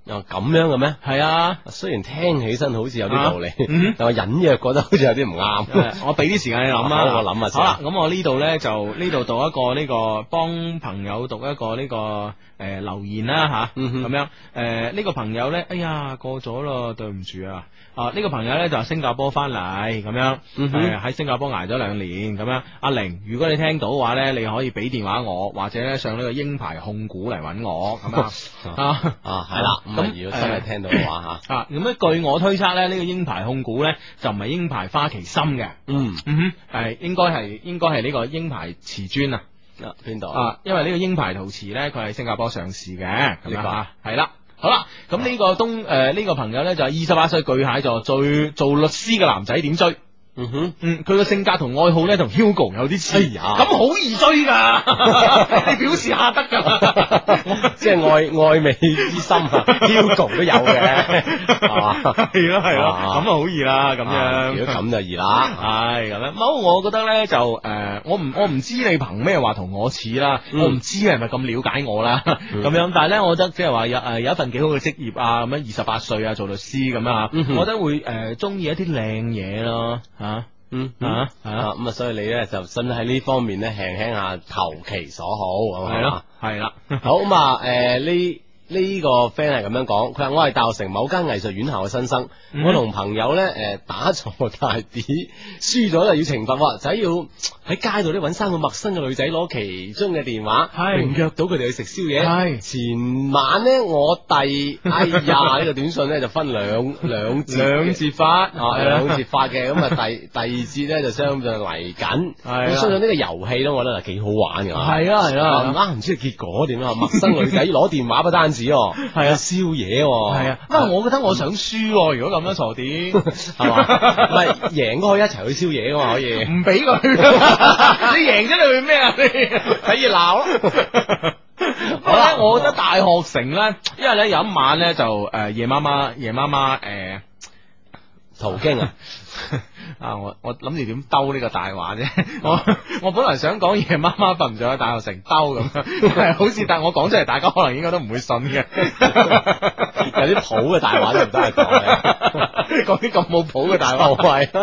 又咁樣嘅咩？ 係啊， 雖然聽起身好似有啲道理，但我隱約覺得好似有啲唔啱。 我俾啲時間你諗啦， 我諗下先。 好啦，咁我呢度咧就呢度讀一個呢個幫朋友讀一個呢個留言啦吓，咁樣呢個朋友咧，哎呀過咗咯，對唔住啊。呢個朋友咧就係新加坡翻嚟咁樣，喺新加坡挨咗2年咁樣。阿玲，如果你聽到嘅話咧，你可以俾電話我，或者咧上呢個鷹牌控股嚟揾我咁係啦。咁如果真係聽到嘅話吓， 咁咧據我推測咧，呢個鷹牌控股咧就唔係鷹牌花旗參嘅，係應該係呢個鷹牌瓷磚啊。 邊度因為呢個鷹牌陶瓷咧，佢係新加坡上市嘅，咁樣吓，係啦。好啦，咁呢個呢個朋友咧就係28歲巨蟹座，做律師嘅男仔點追？佢個性格同愛好咧同 Hugo 有啲似，咁好易追噶，你表示下得噶， 即係愛美之心，Hugo 都有嘅，係嘛？ 係咯，咁啊好易啦，咁樣。 如果咁就易啦， 係咁樣。冇，我覺得咧就我唔知你憑咩話同我似啦，我唔知你係咪咁了解我啦，咁樣。但係咧，我覺得即係話有一份幾好嘅職業啊，咁樣28歲啊做律師咁啊，我覺得會中意一啲靚嘢咯。咁所以你咧就真喺呢方面咧輕下投其所好， 係咯，係啦， 好咁啊，呢個 friend 係咁樣講，佢話我係大學城某間藝術院校嘅新生，我同朋友咧打錯大碟，輸咗就要懲罰，就要喺街度咧揾3個陌生嘅女仔攞其中嘅電話，並約到佢哋去食宵夜。前晚咧我第呢個短信咧就分兩節發嘅，咁啊第二節咧就相對嚟緊。我相信呢個遊戲咧，我覺得係幾好玩嘅。係啦，唔知結果點啊？陌生女仔攞電話不單止，係宵夜，係啊。我覺得我想輸，如果咁樣傻啲，係嘛？唔係贏都可以一齊去宵夜噶嘛？可以唔俾佢？你贏咗你去咩啊？你睇熱鬧咯。好啦，我覺得大學城咧，因為咧有一晚咧就夜媽媽途經我諗住點兜呢個大話啫。我本來想講夜媽媽瞓唔着喺大學城兜咁樣，好似但我講出嚟，大家可能應該都唔會信嘅。有啲譜嘅大話都唔得係講啲咁冇譜嘅大話，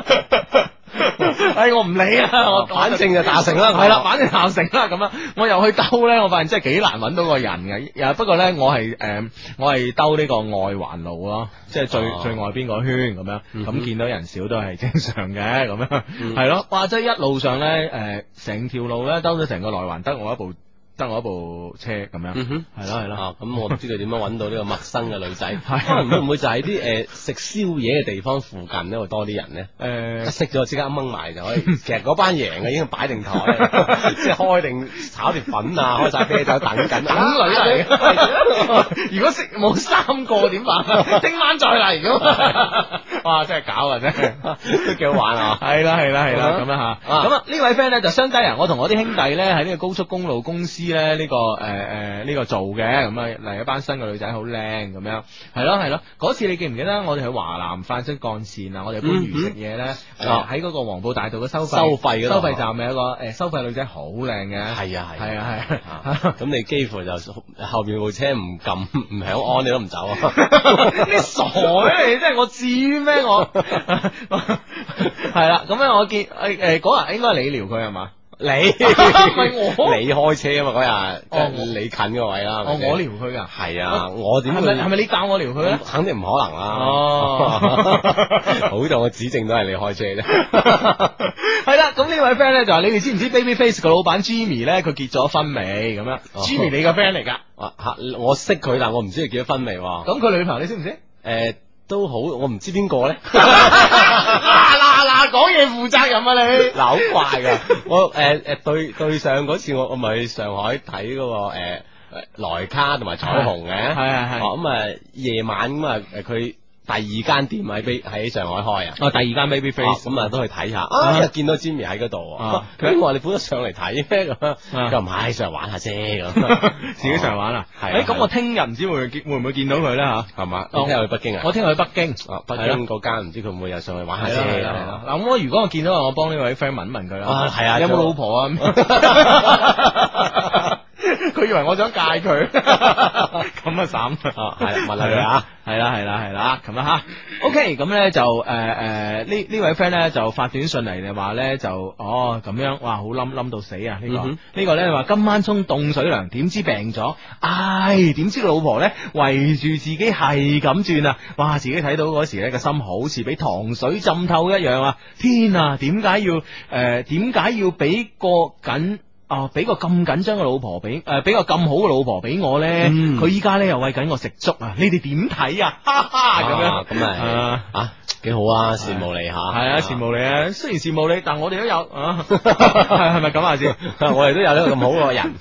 我唔理啦，我反正就大學城啦，係啦，反正大學城啦咁樣。我又去兜咧，我發現真係幾難揾到個人嘅。不過咧，我係兜呢個外環路咯，即係最外邊個圈咁樣。咁見到人少都係正常嘅，咁樣係咯。哇！即係一路上咧，成條路咧兜咗成個內環，得我一部車咁樣，係咯，咁我唔知佢點樣揾到呢個陌生嘅女仔，可能會唔會就喺啲食宵夜嘅地方附近咧會多啲人咧？識咗即刻掹埋就可以。其實嗰班贏嘅已經擺定台，即係開定炒碟粉啊，開晒啤酒等緊等女嚟。如果食冇3個點辦？聽晚再嚟咁。哇！真係搞啊，真係都幾好玩啊！係啦，咁樣吓。咁啊呢位 friend 咧就相低人，我同我啲兄弟咧喺呢個高速公路公司咧呢個做嘅，咁啊嚟一班新嘅女仔好靚咁樣，係咯。嗰次你記唔記得我哋去華南快速幹線啊？我哋番禺食嘢咧，喺嗰個黃埔大道嘅收費站咪有個收費女仔好靚嘅。係啊。咁你幾乎就後邊部車唔撳唔響安你都唔走啊？你傻咩？你真係我至於咩？我係啦。咁樣我見嗰日應該係你撩佢係嘛？你係我，你開車啊嘛嗰日，你近個位啦。我撩佢噶，係啊，我點係咪你教我撩佢咧？肯定唔可能啦。好在我指證都係你開車啫。係啦，咁呢位 friend 咧就話你哋知唔知 Babyface 個老闆 Jimmy 咧佢結咗婚未？咁樣 Jimmy 你個 friend 嚟噶？我識佢，但我唔知佢結咗婚未。咁佢女朋友你識唔識？都好，我唔知邊個咧。嗱，講嘢負責任啊你。嗱，好怪噶，我對上嗰次我咪去上海睇嗰個萊卡同埋彩虹嘅，係。咁夜晚咁佢第二間店喺上海開啊。第二間 Babyface 咁都去睇下。見到 Jimmy 喺嗰度，佢話你本得上嚟睇咩咁？佢唔係上嚟玩下啫咁，自己上嚟玩啊。係。咁我聽日唔知會唔會見到佢咧吓？係嘛？我聽日去北京啊。我聽日去北京。北京嗰間唔知佢會唔會又上嚟玩下啫？嗱，咁如果我見到我幫呢位 friend 問佢啦。係啊。有冇老婆啊？佢以為我想戒佢， 咁啊慘係問下你啊， 係啦，咁啊吓，OK，咁咧就呢位 friend 咧就發短信嚟，就話咧就咁樣，哇，好冧到死啊！呢個咧話今晚沖凍水涼，點知病咗，點知個老婆咧圍住自己係咁轉啊！哇，自己睇到嗰時咧個心好似俾糖水浸透一樣啊！天啊，點解要俾俾個咁緊張嘅老婆俾個咁好嘅老婆俾我咧？佢依家咧又餵緊我食粥啊！你哋點睇啊？哈哈，咁樣咁係幾好啊！羨慕你吓， 係啊，羨慕你啊！雖然羨慕你，但我哋都有係咪咁啊？先， 我哋都有呢個咁好嘅人。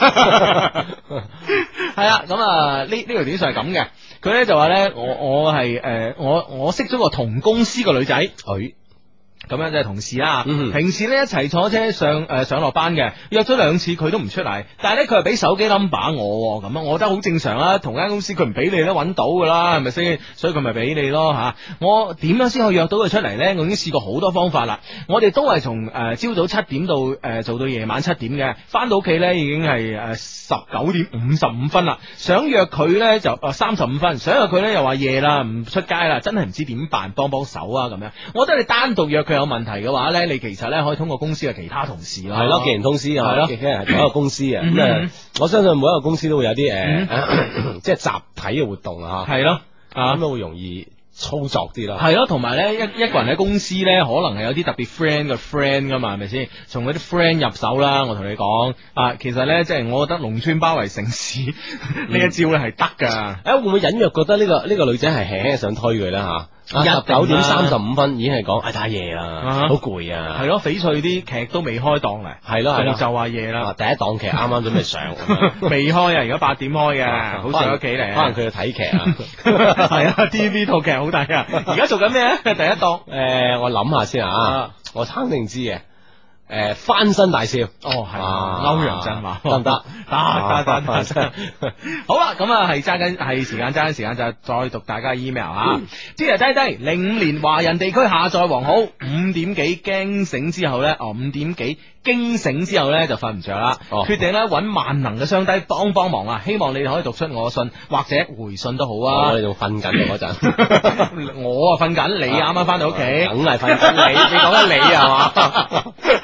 係啦，咁呢條短信係咁嘅，佢咧就話咧，我識咗個同公司嘅女仔，咁樣就係同事啦。平時咧一齊坐車上落班嘅，約咗2次佢都唔出嚟，但係咧佢係俾手機 number 我，咁我覺得好正常啦。同間公司佢唔俾你都揾到噶啦，係咪先？所以佢咪俾你咯吓。我點樣先可以約到佢出嚟咧？我已經試過好多方法啦。我哋都係從朝早7點到做到夜晚7點嘅，翻到屋企咧已經係19點55分啦。想約佢咧就35分，想約佢咧又話夜啦，唔出街啦，真係唔知點辦，幫手啊咁樣。我覺得你單獨約佢有問題嘅話咧，你其實咧可以通過公司嘅其他同事咯。 係咯，既然通司係咯，既然係同一個公司啊，咁我相信每一個公司都會有啲即係集體嘅活動啊，係咯，咁都會容易操作啲啦。係咯， 同埋咧一個人喺公司咧，可能係有啲特別 friend 嘅 friend 噶嘛，係咪先？從嗰啲 friend 入手啦，我同你講其實咧即係我覺得農村包圍城市呢一招咧係得噶。 會唔會隱約覺得呢個女仔係輕輕想推佢咧吓？19點35分已經係講太夜啦，好攰啊！ 係咯，翡翠啲劇都未開檔嚟， 係咯， 就話夜啦。 第一檔劇啱啱準備上， 未開啊！而家8點開嘅，好上屋企嚟。 可能佢要睇劇啊， 係啊 ，TV 套劇好睇啊！而家做緊咩咧？第一檔我諗下先啊，我肯定知嘅。翻身大笑係歐陽震華得唔得？ 得，好啦，咁係時間就再讀大家 email 啊。啲人低05年華人地區下載王好5點幾驚醒之後咧，5點幾驚醒之後咧就瞓唔着啦，決定咧揾萬能嘅雙低幫忙啊！希望你哋可以讀出我嘅信或者回信都好啊。 你仲瞓緊嗰陣， 我瞓緊，你啱啱翻到屋企， 梗係瞓緊你講緊你係嘛？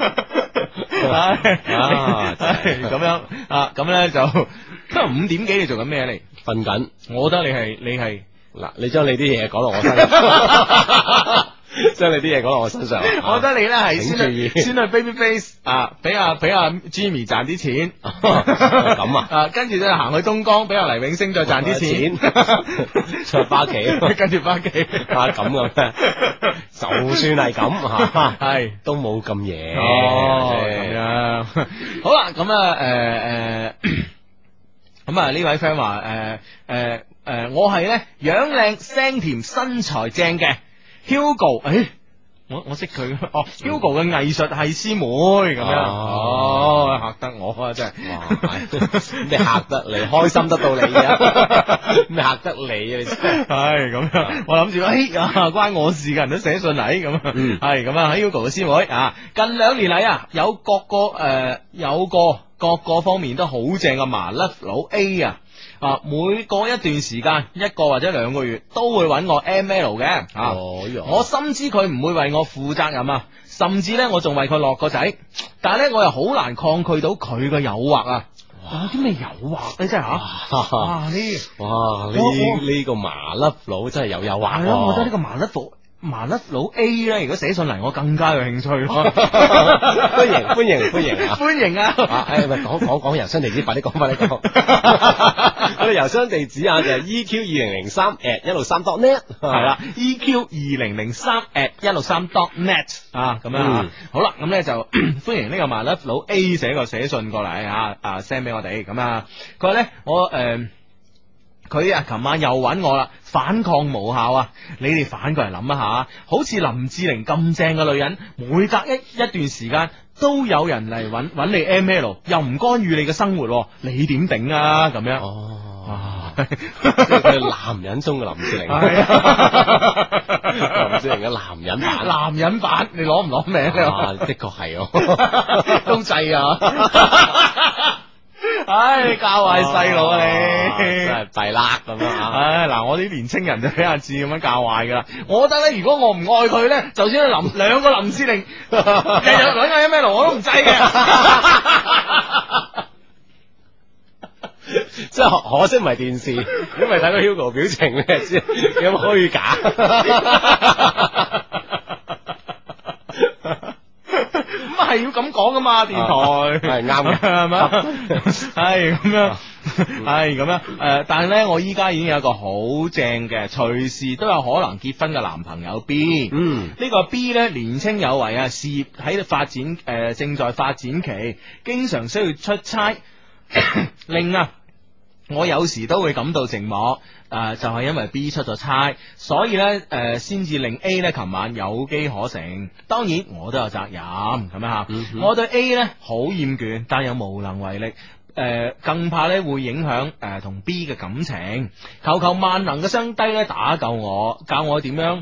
咁樣咁咧就今日5點幾你做緊咩你瞓緊， 我覺得你係嗱，你將你啲嘢講落我身上，將你啲嘢講落我身上， 我覺得你咧係先去 baby face 俾阿 Jimmy 賺啲錢， 咁跟住再行去東江俾阿黎永升再賺啲錢， 再翻屋企， 跟住翻屋企咁咩？就算係咁係都冇咁夜咁樣。好啦，咁呢位 friend 話我係咧樣靚聲甜身材正嘅 Hugo，我識佢Hugo 嘅藝術系師妹咁樣，嚇得我啊真係， 咩嚇得你開心得到你啊？咩嚇得你啊？你係咁樣，我諗住關我事嘅人都寫信嚟咁，係咁啊，Hugo 嘅師妹近2年嚟有各個方面都好正嘅麻甩佬 A 每過一段時間1個或者2個月都會揾我 ML 嘅我深知佢唔會為我負責任甚至呢，我仲為佢落個仔，但係呢，我又好難抗拒到佢嘅誘惑有啲咩誘惑咧？真係呢個麻甩佬真係有誘惑係咯，我覺得呢個麻甩佬 A 咧，如果寫上嚟，我更加有興趣咯。 歡迎啊！ 講郵箱地址，快啲講。我哋郵箱地址就係 EQ2003@163.net 係啦，EQ2003@163.net 咁樣好啦，咁咧就歡迎呢個麻甩佬 A 寫信過嚟send 俾我哋咁啊。佢話咧佢琴晚又揾我啦，反抗無效你哋反過嚟諗一下，好似林志玲咁正嘅女人，每隔一段時間都有人嚟揾你 ML， 又唔干預你嘅生活，你點頂啊？咁樣即係佢男人中嘅林志玲，林志玲嘅男人版， 你攞唔攞名？ 的確係都制唉，教壞細路啊你， 真係弊啦咁樣啊！ 唉，嗱，我啲年青人就俾阿志咁樣教壞噶啦。我覺得咧，如果我唔愛佢咧，就算兩個林志玲，日日搵個 M L 我都唔制嘅。 即係可惜唔係電視，因為睇個 Hugo 表情咧，知有冇虛假。 咁係要咁講噶嘛，電台係啱嘅， 係咪？係咁樣，係咁樣。但係咧，我依家已經有一個好正嘅，隨時都有可能結婚嘅男朋友 B。呢個 B 咧年青有為啊，事業喺度發展，正在發展期，經常需要出差，令我有時都會感到寂寞。就係因為 B 出咗差，所以咧先至令 A 咧琴晚有機可乘。當然我都有責任咁樣吓。我對 A 咧好厭倦，但又無能為力。更怕咧會影響同 B 嘅感情。求求萬能嘅雙低咧打救我，教我點樣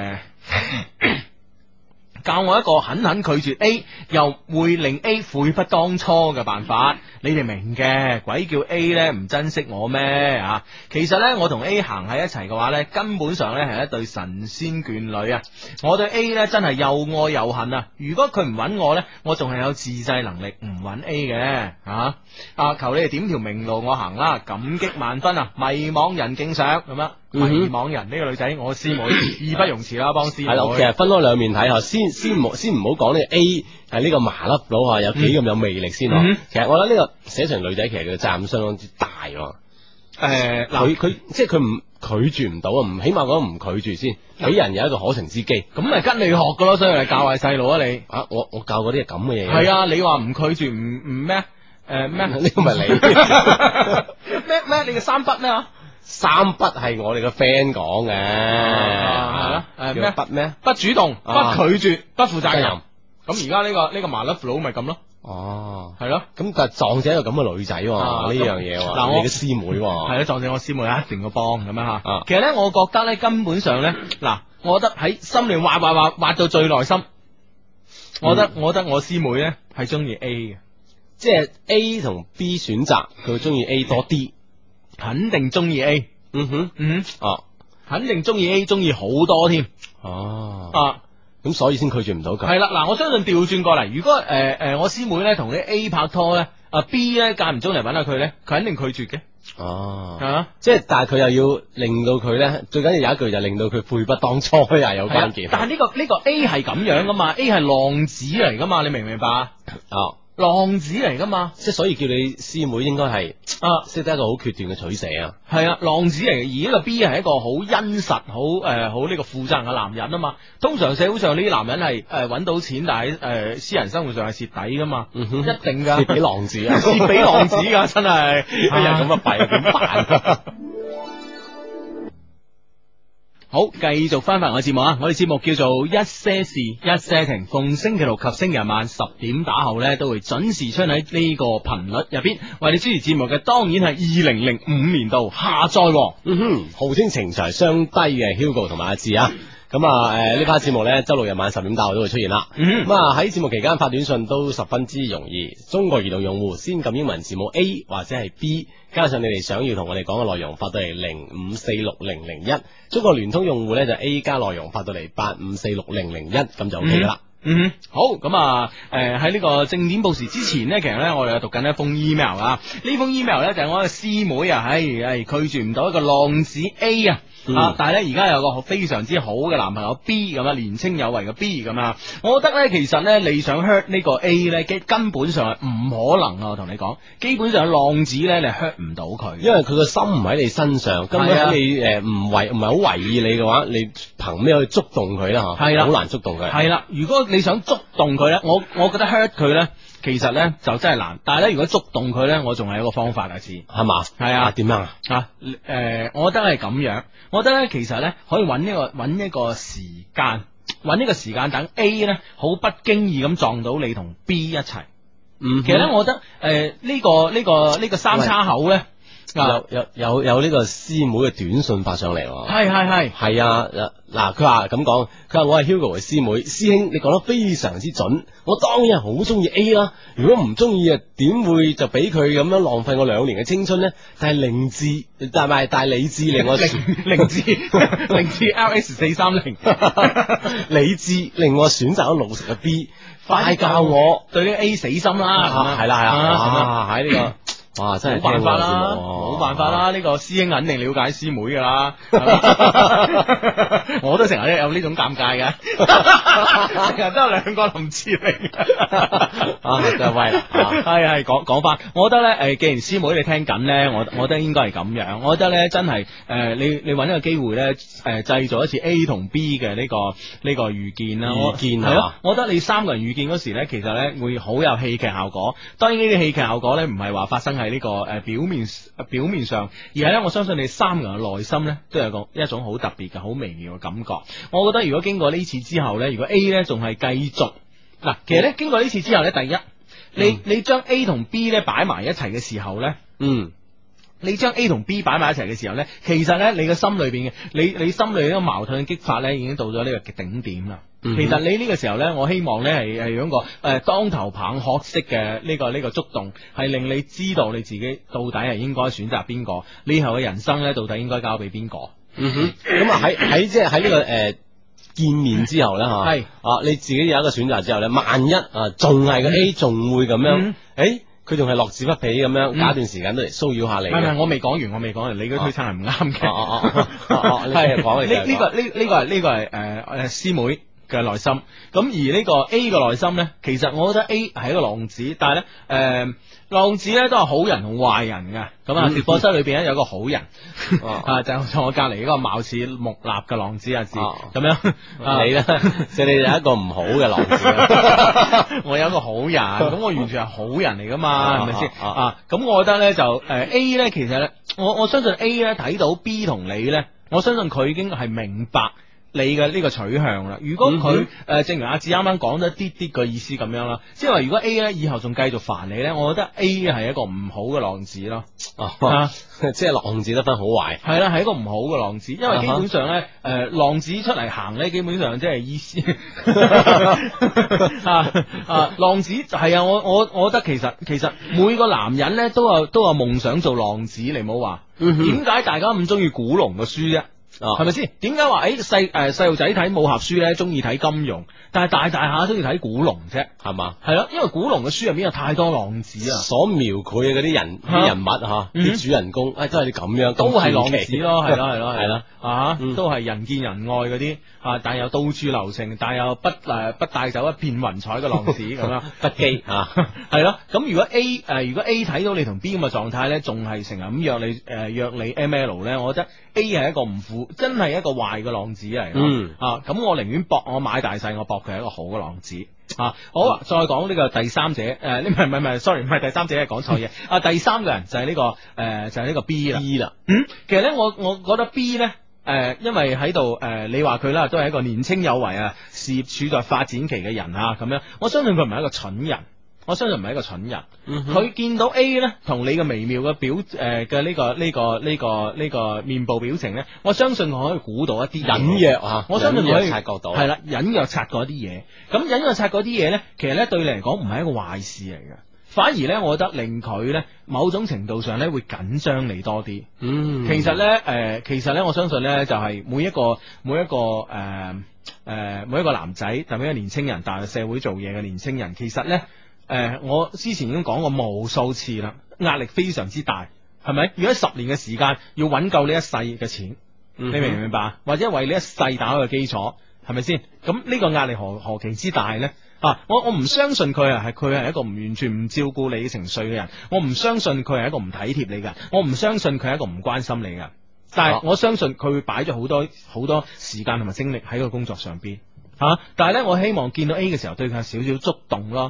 教我一個狠狠拒絕 A 又會令 A 悔不當初嘅辦法。你哋明嘅，鬼叫 A 呢唔珍惜我咩啊？其實呢，我同 A 行喺一齊嘅話呢，根本上呢係一對神仙眷侶啊！我對 A 呢真係又愛又恨啊！如果佢唔揾我呢，我仲係有自制能力唔揾 A 嘅啊！求你哋點條明路我行啦，感激萬分啊！迷惘人敬上咁樣。迷惘人呢個女仔，我師妹義不容辭啦，幫師妹。係啦， 其實分開兩面睇下，先唔好講呢個 A 係呢個麻甩佬啊，有幾咁有魅力先。其實我覺得呢個寫成女仔，其實佢嘅責任相當之大。佢即係佢唔拒絕唔到啊，唔起碼講唔拒絕先，俾人有一個可乘之機。咁咪跟你學噶咯，所以嚟教壞細路啊你。我教嗰啲係咁嘅嘢。係啊，你話唔拒絕唔咩？咩？呢個咪你咩？你嘅三筆咩啊？三不係我哋個 friend 講嘅，係咯，咩不咩？不主動、不拒絕、不負責任。咁而家呢個麻甩佬咪咁咯。哦，係咯。咁但係撞正一個咁嘅女仔呢樣嘢，嗱，你嘅師妹係咯，撞正我師妹一定要幫咁樣吓。其實咧，我覺得咧，根本上咧，嗱，我覺得喺心裏挖到最內心，我覺得我師妹咧係中意 A 嘅，即係 A 同 B 選擇，佢會中意 A 多啲。肯定中意 A，肯定中意 A，中意好多添，咁所以先拒絕唔到佢。係啦，嗱，我相信調轉過嚟，如果我師妹咧同啲 A 拍拖咧，B 咧間唔中嚟搵下佢咧，佢肯定拒絕嘅。即係但係佢又要令到佢咧，最緊要有一句就令到佢悔不當初又有關鍵。但係呢個 A 係咁樣噶嘛，A 係浪子嚟噶嘛，你明唔明白？浪子嚟噶嘛，即係所以叫你師妹應該係識得一個好決斷嘅取捨啊。係啊，浪子嚟嘅，而呢個 B 係一個好殷實、好呢個負責任嘅男人啊嘛。通常社會上呢啲男人係搵到錢，但係私人生活上係蝕底噶嘛，一定噶，蝕俾浪子啊，蝕俾浪子噶，真係一日咁啊弊點辦？好，繼續翻我嘅節目啊！我哋節目叫做一些事一些情，逢星期六及星期日晚10點打後呢，都會準時出喺呢個頻率入邊。為你主持節目嘅當然係2005年度下載，號稱情長相低嘅 Hugo 同埋阿志啊！咁呢 part 節目呢，周六日晚10點打後都會出現啦。咁喺節目期間發短信都十分之容易。中國移動用戶先撳英文字母 A 或者係 B， 加上你哋想要同我哋講嘅內容發到嚟05460001。中國聯通用戶呢，就 A 加內容發到嚟85460001，咁就 OK 噶啦。好，咁喺呢個正點報時之前呢，其實呢，我哋有讀緊一封 email 啊。呢封 email 呢，就係我嘅師妹啊，拒絕唔到一個浪子 A 啊。但係咧而家有個非常之好嘅男朋友 B 咁啊，年青有為嘅 B 咁啊，我覺得咧其實咧你想 hurt 呢個 A 咧，根本上係唔可能啊！我同你講，基本上浪子咧你 hurt 唔到佢，因為佢個心唔喺你身上，根本喺你唔係好為意你嘅話，你憑咩去觸動佢咧？係啦，好難觸動佢。係啦，如果你想觸動佢咧，我覺得 hurt 佢咧。其實咧就真係難，但係咧如果觸動佢咧，我仲係有一個方法啊，知係嘛？係啊，點樣啊？我覺得係咁樣，我覺得咧其實咧可以揾一個時間，揾一個時間等 A 咧好不經意咁撞到你同 B 一齊。其實咧我覺得呢個三叉口咧。 有呢個師妹嘅短信發上嚟，係啊，嗱，佢話咁講，佢話我係 Hugo 嘅師妹，師兄你講得非常之準，我當然係好中意 A 啦，如果唔中意啊，點會就俾佢咁樣浪費我2年嘅青春呢？但係理智令我凌志 LS430 理智令我選擇咗老實嘅 B， 快教我對呢個 A 死心啦， 係啦，喺呢個。哇！真係冇辦法啦，冇辦法啦！呢個師兄肯定了解師妹噶啦，我都成日有呢種尷尬嘅，成日都有2個林志玲真係威啦！ 係講翻，我覺得咧既然師妹你聽緊咧，我覺得應該係咁樣，我覺得咧真係你揾一個機會咧製造一次 A 同 B 嘅呢個遇見啦，係咯，我覺得你3個人遇見嗰時咧，其實咧會好有戲劇效果。當然呢啲戲劇效果咧唔係話發生喺呢個表面上，而係咧我相信你3個人嘅內心咧都有一種好特別嘅好微妙嘅感覺。我覺得如果經過呢次之後咧，如果 A 咧仲係繼續嗱，其實咧經過呢次之後咧，第一你將 A 同 B 咧擺埋一齊嘅時候咧，你將 A 同 B 擺埋一齊嘅時候咧，其實咧你嘅心裏邊嘅你心裏呢個矛盾嘅激發咧已經到咗呢個頂點啦。其實你呢個時候咧，我希望咧係有一個當頭棒喝式嘅呢個觸動，係令你知道你自己到底係應該選擇邊個，你以後嘅人生咧到底應該交俾邊個。 咁啊喺即係喺呢個見面之後咧吓，係你自己有一個選擇之後咧，萬一仲係個 A 仲會咁樣，佢仲係樂此不疲咁樣，隔一段時間都嚟騷擾下你。唔係，我未講完，你嗰推測係唔啱嘅。係講呢個係師妹嘅內心，咁而呢個 A 嘅內心咧，其實我覺得 A 係一個浪子，但係咧浪子咧都係好人同壞人嘅。咁啊，直播室裏邊咧有個好人就坐我隔籬嗰個貌似木訥嘅浪子阿志咁樣， 你咧即係你有一個唔好嘅浪子， 我有一個好人，咁我完全係好人嚟噶嘛，係咪先？咁我覺得咧就A 咧，其實咧我相信 A 咧睇到 B 同你咧，我相信佢已經係明白你嘅呢個取向啦。如果佢正如阿志啱啱講咗啲個意思咁樣啦，即係話如果 A 咧以後仲繼續煩你咧，我覺得 A 係一個唔好嘅浪子咯。 即係浪子得分好壞。係啦，係一個唔好嘅浪子，因為基本上咧浪子出嚟行咧，基本上即係意思浪子係啊，我覺得其實每個男人咧都有夢想做浪子，你唔好話點解大家咁中意古龍嘅書啫？係咪先？點解話細路仔睇武俠書咧，中意睇金庸，但係大下中意睇古龍啫？係嘛？係咯，因為古龍嘅書入邊有太多浪子啊，所描繪嘅嗰啲人物啲主人公，都係你咁樣，都係浪子咯，係咯，都係人見人愛嗰啲但又到處留情，但又不帶走一片雲彩嘅浪子咁樣，不羈係咯。咁如果 A 睇到你同 B 咁嘅狀態咧，仲係成日咁約你 ML 咧，我覺得 A 係一個真係一個壞嘅浪子嚟。咁我寧願我買大細，我搏佢係一個好嘅浪子。好，再講呢個第三者，唔係 sorry， 唔係第三者，係講錯嘢。第三個人就係呢個 B 啦。其實咧，我覺得 B 咧，因為喺度你話佢啦，都係一個年青有為事業處在發展期嘅人咁樣，我相信佢唔係一個蠢人。佢見到 A 咧同你嘅微妙嘅嘅呢個面部表情咧，我相信佢可以估到一啲隱約我相信佢可以察覺到，係啦，隱約察覺一啲嘢。咁隱約察覺啲嘢咧，其實咧對你嚟講唔係一個壞事嚟嘅，反而咧我覺得令佢咧某種程度上咧會緊張你多啲。其實咧我相信咧就係每一個男仔，特別一個年青人，踏入社會做嘢嘅年青人，其實咧我之前已經講過無數次啦，壓力非常之大，係咪？如果10年嘅時間要揾夠呢一世嘅錢，你明唔明白？或者為呢一世打開個基礎，係咪先？咁呢個壓力何其之大呢？我唔相信佢係一個完全唔照顧你情緒嘅人，我唔相信佢係一個唔體貼你嘅人，我唔相信佢係一個唔關心你嘅人，但係我相信佢會擺咗好多時間同埋精力喺個工作上邊。但係呢，我希望見到 A 嘅時候對佢有少少觸動咯。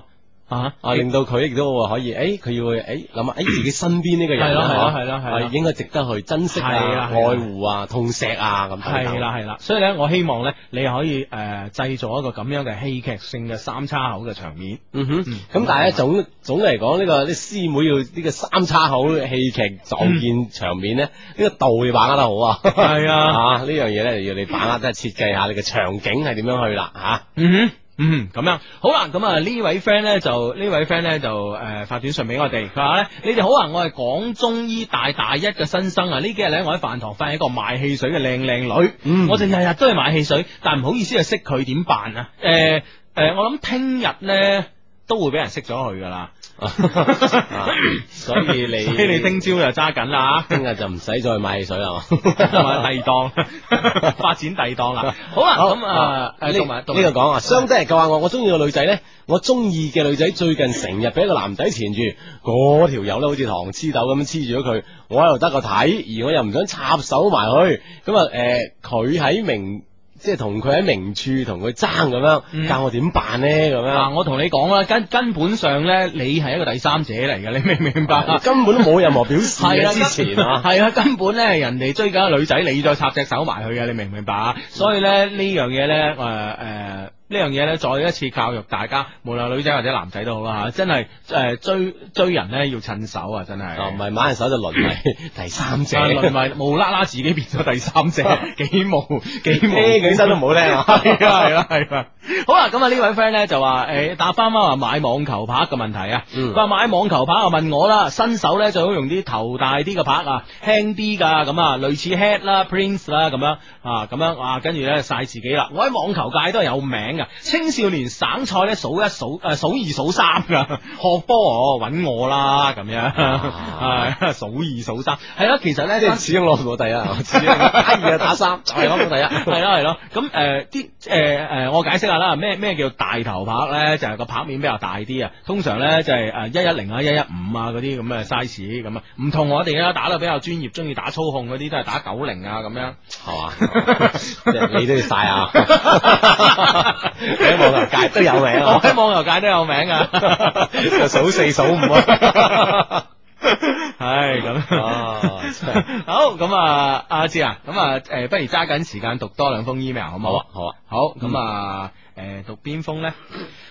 令到佢亦都可以，佢要諗下，自己身邊呢個人係應該值得去珍惜愛護啊、痛錫啊咁。 係啦，所以咧，我希望咧，你可以製造一個咁樣嘅戲劇性嘅三叉口嘅場面。 咁但係咧總嚟講，呢個啲師妹要呢個三叉口戲劇撞見場面咧，呢個度要把握得好啊。係啊，呢樣嘢咧要你把握，即係設計下你嘅場景係點樣去啦吓。 咁樣好啦，咁啊呢位 friend 咧就發短信俾我哋，佢話咧，你哋好啊，我係廣中醫大一嘅新生啊，呢幾日咧我喺飯堂發現一個賣汽水嘅靚女，我就日日都去買汽水，但唔好意思識佢，點辦啊？我諗聽日咧都會俾人識咗佢噶啦。 所以你聽朝就揸緊啦， 聽日就唔使再買汽水啦嘛， 第二檔發展第二檔啦。好啦，咁呢個講啊，相對嚟講話我中意個女仔咧，我中意嘅女仔最近成日俾一個男仔纏住，嗰條友咧好似糖黐豆咁黐住咗佢，我喺度得個睇，而我又唔想插手埋去，咁啊佢喺即係同佢喺明處同佢爭咁樣，教我點辦呢？咁樣我同你講啦，根本上咧，你係一個第三者嚟嘅，你明唔明白？ 根本都冇任何表示之前係啊，根本咧人哋追緊個女仔，你再插隻手埋去嘅，你明唔明白？所以咧呢樣嘢咧，呢樣嘢咧，再一次教育大家，無論女仔或者男仔都好啦吓，真係追人咧要趁手啊，真係。 唔係挽手就淪為第三者， 淪為無啦啦自己變咗第三者，幾無起身都唔好聽啊！ 係啦。好啦，咁啊呢位 friend 咧就話答翻話買網球拍嘅問題啊。佢話買網球拍啊，問我啦，新手咧最好用啲頭大啲嘅拍啊，輕啲噶，咁啊類似 Head 啦、Prince 啦咁樣跟住咧晒自己啦。我喺網球界都係有名噶，青少年省賽咧數二數三噶，學波揾我啦咁樣，係數二數三，係咯，其實咧即係始終攞唔到第一，打二打三就係攞到第一， 係咯。咁我解釋下啦，咩叫大頭拍咧？就係個拍面比較大啲啊，通常咧就係110啊、115啊嗰啲咁嘅 size 咁啊，唔同我哋啦，打得比較專業，中意打操控嗰啲都係打90啊咁樣， 係嘛？你都要晒啊！喺網球界都有名， 我喺網球界都有名啊， 就數4數5啊。 係咁，好咁啊，阿志啊，咁不如揸緊時間讀多2封 email 好唔好啊？好咁讀邊封咧？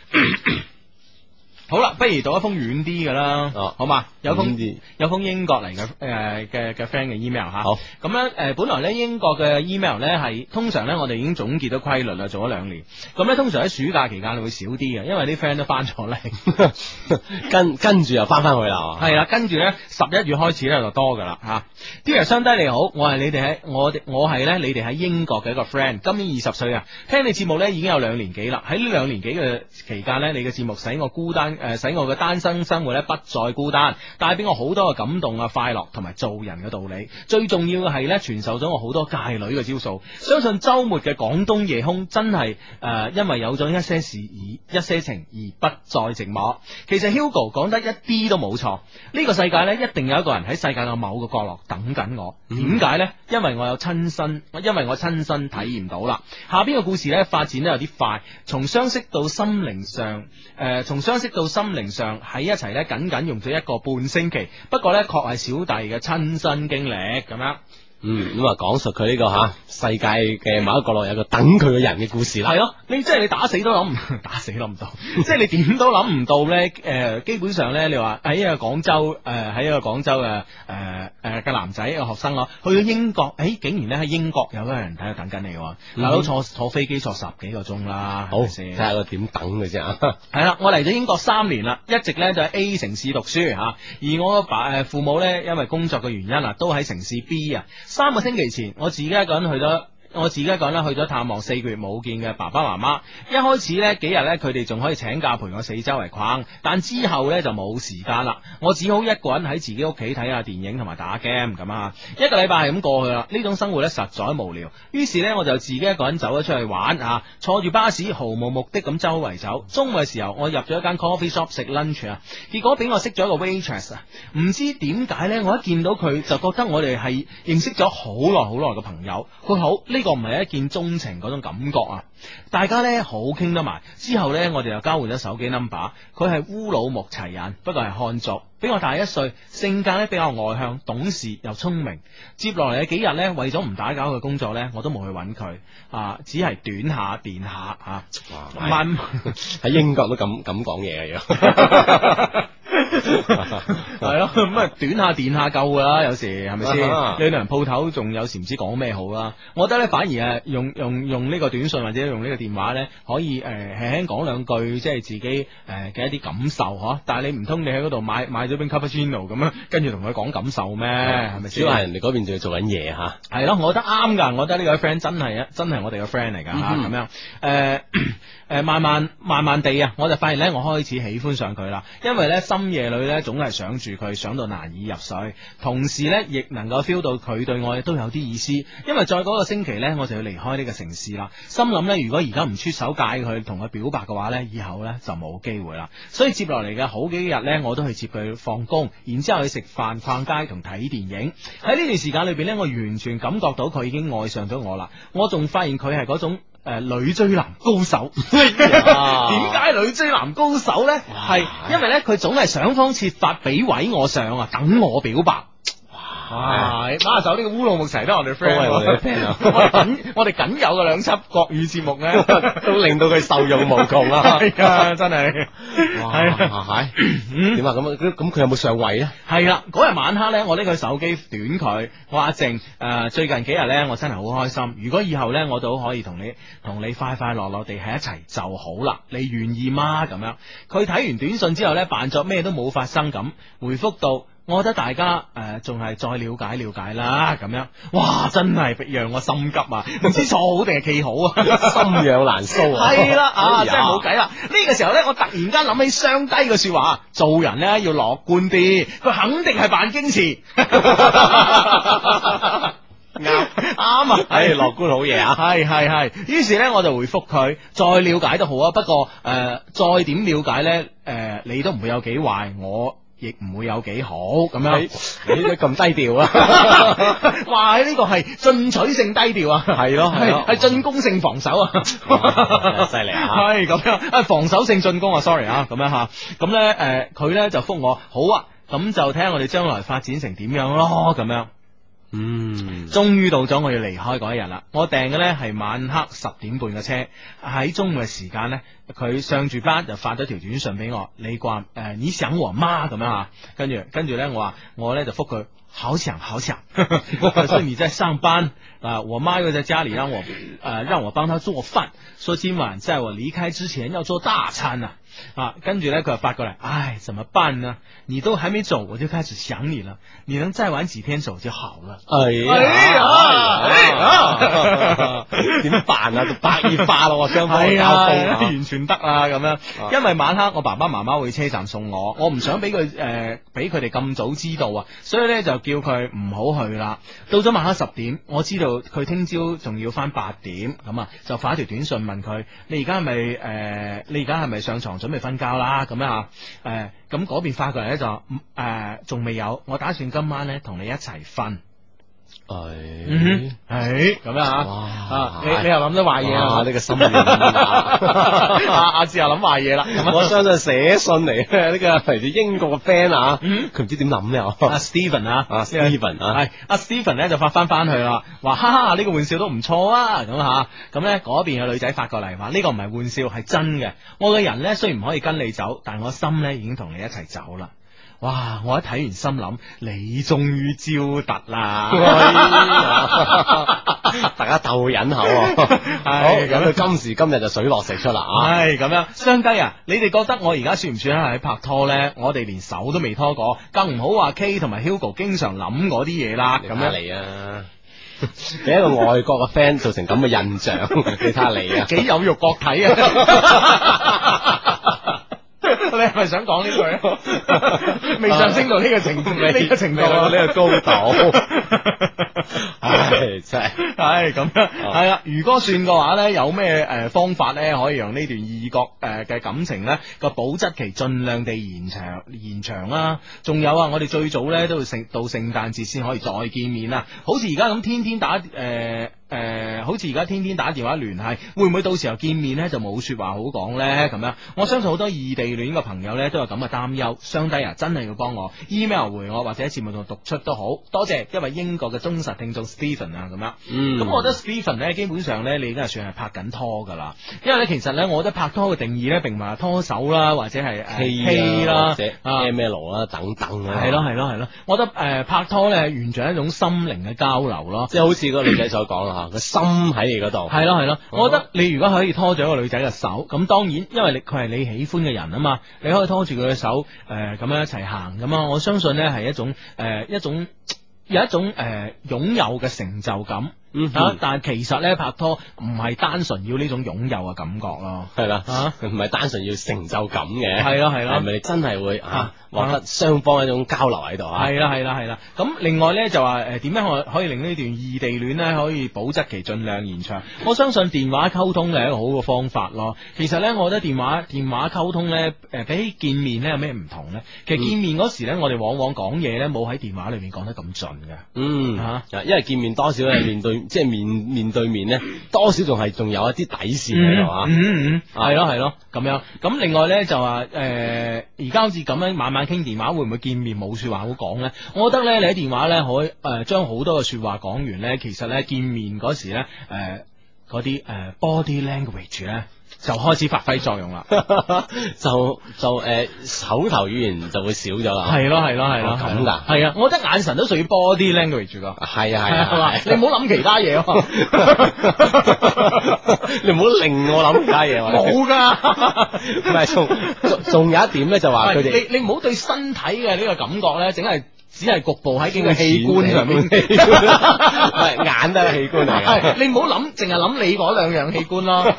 好啦，不如讀一封遠啲嘅啦，好嘛？有封英國嚟嘅 friend 嘅 email 吓。好，咁咧本來咧英國嘅 email 咧係通常咧我哋已經總結咗規律啦，做咗2年。咁咧通常喺暑假期間會少啲嘅，因為啲 friend 都翻咗嚟，跟住又翻去啦。係啦，跟住咧11月開始咧就多噶啦吓。Dear 雙低你好，我係你哋喺你哋喺英國嘅一個 friend， 今年20歲啊，聽你節目咧已經有2年幾啦。喺呢2年幾嘅期間咧，你嘅節目使我孤單。使我嘅單身生活咧不再孤單，帶俾我好多嘅感動啊、快樂同埋做人嘅道理。最重要嘅係咧，傳授咗我好多界女嘅招數。相信周末嘅廣東夜空真係因為有咗一些事一些情而不再寂寞。其實 Hugo 講得一啲都冇錯，呢個世界咧一定有一個人喺世界嘅某個角落等緊我。點解呢？因為我親身體驗到啦。下邊嘅故事咧發展得有啲快，從相識到心靈上喺一齊咧，僅僅用咗1個半星期。不過咧，確係小弟嘅親身經歷咁樣。 咁啊，講述佢呢個世界嘅某一個角落有個等佢嘅人嘅故事啦。 係咯，你即係你打死都諗唔到，即係你點都諗唔到咧。基本上咧，你話喺一個廣州嘅男仔嘅學生咯，去到英國，竟然咧喺英國有個人喺度等緊你，大佬坐飛機坐10幾個鐘啦。好，睇下佢點等嘅啫。 係啦，我嚟咗英國3年啦，一直咧就喺 A 城市讀書吓，而我父母咧因為工作嘅原因啊，都喺城市 B 啊。3個星期前，我自己一個人去咗探望4個月冇見嘅爸爸媽媽。一開始呢幾日呢，佢哋仲可以請假陪我四周圍逛，但之後呢就冇時間啦。我只好一個人喺自己屋企睇下電影同埋打 game 咁啊。1個禮拜係咁過去啦，呢種生活呢實在無聊。於是呢，我就自己一個人走咗出去玩啊，坐住巴士毫無目的咁周圍走。中午嘅時候，我入咗一間 coffee shop 食 lunch 啊，結果俾我識咗一個 waitress 啊。唔知點解呢，我一見到佢就覺得我哋係認識咗好耐嘅朋友。佢好呢呢個唔係一見鍾情嗰種感覺啊。大家呢好傾得埋，之後呢，我哋又交換咗手機 number。佢係烏魯木齊人，不過係漢族，比我大1歲，性格呢比較外向、懂事又聰明。接落嚟嘅幾日呢，為咗唔打攪佢工作呢，我都冇去揾佢啊，只係短下電下吓。慢喺英國都咁講嘢嘅要。 係咯，咁啊短下電下夠噶啦，有時係咪先？兩個人鋪頭仲有時唔知講咩好啦。我覺得咧，反而係用呢個短信或者用呢個電話咧，可以輕輕講兩句，即係自己嘅一啲感受嗬。但係你唔通你喺嗰度買咗杯 cappuccino 咁樣，跟住同佢講感受咩？係咪先？主要係人哋嗰邊仲要做緊嘢吓。 係咯，我覺得啱噶，我覺得呢個 friend 真係我哋嘅 friend 嚟噶吓，咁樣慢慢地啊，我就發現咧，我開始喜歡上佢啦，因為咧深夜裏咧總係想住佢，想到難以入睡，同時咧亦能夠 feel 到佢對我都有啲意思，因為再嗰個星期咧我就要離開呢個城市啦，心諗咧如果而家唔出手介佢同佢表白嘅話咧，以後咧就冇機會啦，所以接落嚟嘅好幾日咧我都去接佢放工，然之後去食飯、逛街同睇電影。喺呢段時間裏邊咧，我完全感覺到佢已經愛上咗我啦，我仲發現佢係嗰種女追男高手。點解女追男高手呢？係因為呢，佢總係想方設法俾位我上啊，等我表白。哇！馬手呢個烏魯木齊都係我哋 friend，都係我哋 friend 啊！我哋僅有嘅2輯國語節目呢， 都令到佢受用無窮啊！ 係啊，真係。 哇！係點啊？咁佢有冇上位呢？ 係啦，嗰日晚黑呢，我拎佢手機短佢，我話阿靜最近幾日呢，我真係好開心。如果以後呢，我都可以同你快快樂樂地喺一齊就好啦。你願意嗎？咁樣，佢睇完短信之後呢，扮作咩都冇發生咁，回覆到。我覺得大家仲係再了解啦，咁樣，哇，真係讓我心急啊！唔知錯好定係企好啊， 心癢難搔啊！ 係啦，真係冇計啦！呢個時候咧，我突然間諗起雙低嘅說話，做人咧要樂觀啲，佢肯定係扮矜持。啱啊， 係樂觀好嘢啊！ 係，於是咧我就回覆佢，再了解都好啊，不過再點了解咧，你都唔會有幾壞，我亦唔會有幾好咁樣， 你都咁低調啊！ 哇！呢個係進取性低調啊， 係咯， 係進攻性防守啊， 犀利啊！ 係咁樣，防守性進攻啊 ，sorry 啊，咁樣吓，咁咧佢咧就覆我，好啊，咁就睇下我哋將來發展成點樣咯，咁樣。終於到咗我要離開嗰一日啦！我訂嘅呢係晚黑10點半嘅車，喺中午嘅時間呢，佢上住班就發咗條短信俾我，你話你想我媽咁樣啊？跟住呢，我呢就覆佢，好想，可是你在上班啊，我媽又在家裏讓我幫她做飯，說今晚在我離開之前要做大餐啊，跟住呢，佢就發過嚟，唉，怎麼辦呢？你都還沒走，我就開始想你了。你能再晚幾天走就好了。 點辦啊？白熱化咯，雙方交鋒完全得啊咁樣。因為晚黑我爸爸媽媽會車站送我唔想俾佢哋咁早知道啊，所以呢，就叫佢唔好去啦。到咗晚黑10點，我知道佢聽朝仲要翻8點，咁啊就發一條短信問佢：你而家係咪上床準備瞓覺啦？咁樣啊？咁嗰邊發過嚟咧就仲未有，我打算今晚咧同你一齊瞓。咁樣啊？你又諗咗壞嘢啊？ 呢個心軟阿志又諗壞嘢啦。 我相信寫信嚟呢個嚟自英國嘅 friend 啊，佢唔知點諗咧。 阿 Steven 啊係阿 Steven 咧就發翻去啦，話哈哈呢個玩笑都唔錯啊，咁吓咁咧嗰邊嘅女仔發過嚟話呢個唔係玩笑，係真嘅。我嘅人咧雖然唔可以跟你走，但我心咧已經同你一齊走啦。哇！我一睇完心諗，你終於招突啦！ 大家鬥忍口，好咁到今時今日就水落石出啦啊！ 係咁樣，雙低啊！你哋覺得我而家算唔算係喺拍拖咧？我哋連手都未拖過，更唔好話 K 同埋 Hugo 經常諗嗰啲嘢啦。咁樣嚟啊！俾一個外國嘅 friend 造成咁嘅印象，你睇下你啊， 幾有肉國體啊！你係咪想講呢句啊？未上升到呢個程度，呢個程度， 呢個高度。唉，真係， 係咁樣，係啦。如果算嘅話咧，有咩方法咧，可以讓呢段異國嘅感情咧個保質期盡量地延長啦？仲有啊，我哋最早咧都要到聖誕節先可以再見面啊！好似而家咁天天打好似而家天天打電話聯繫，會唔會到時候見面呢就冇說話好講呢？咁樣，我相信好多異地戀嘅朋友呢都有咁嘅擔憂。雙低啊，真係要幫我 email 回我，或者喺節目度讀出都好。多謝一位英國嘅忠實聽眾 Stephen 啊，咁樣。咁我覺得 Stephen 呢，基本上呢，你而家算係拍緊拖噶啦。因為呢，其實呢，我覺得拍拖嘅定義呢，並唔係拖手啦，或者係 K 啦，或者 ML 啦等等啊。 係咯，我覺得拍拖呢，完全係一種心靈嘅交流咯， 即係好似個女仔所講啦吓，個心喺你嗰度。 係咯，我覺得你如果可以拖住一個女仔嘅手，咁當然，因為佢係你喜歡嘅人啊嘛，你可以拖住佢嘅手，咁樣一齊行咁啊，我相信呢係一種有一種擁有嘅成就感。但係其實咧拍拖唔係單純要呢種擁有嘅感覺咯，係啦， 唔係單純要成就感嘅， 係咯， 係咪你真係會獲得雙方一種交流喺度啊？ 係啦，咁另外咧就話點樣可以令呢段異地戀咧可以保質期盡量延長？我相信電話溝通係一個好嘅方法咯。其實咧，我覺得電話溝通咧比起見面咧有咩唔同咧？其實見面嗰時咧，我哋往往講嘢咧冇喺電話裏面講得咁盡嘅， 因為見面多少咧面對。即係面對面咧，多少仲有一啲底線喺度啊！ 係咯，咁樣。咁另外咧就話而家好似咁樣晚晚傾電話，會唔會見面冇說話好講咧？我覺得咧，你喺電話咧可以將好多嘅說話講完咧，其實咧見面嗰時咧嗰啲body language 咧就開始發揮作用啦， 就口頭語言就會少咗啦。 係咯，咁噶。係啊，我覺得眼神都屬於 body language 噶。 係啊， 你唔好諗其他嘢， 你唔好令我諗其他嘢。 冇噶， 唔係仲有一點咧，就話佢哋你唔好對身體嘅呢個感覺咧，只係局部喺幾個器官上面， 係眼都係器官嚟嘅。 你唔好諗，淨係諗你嗰兩樣器官咯。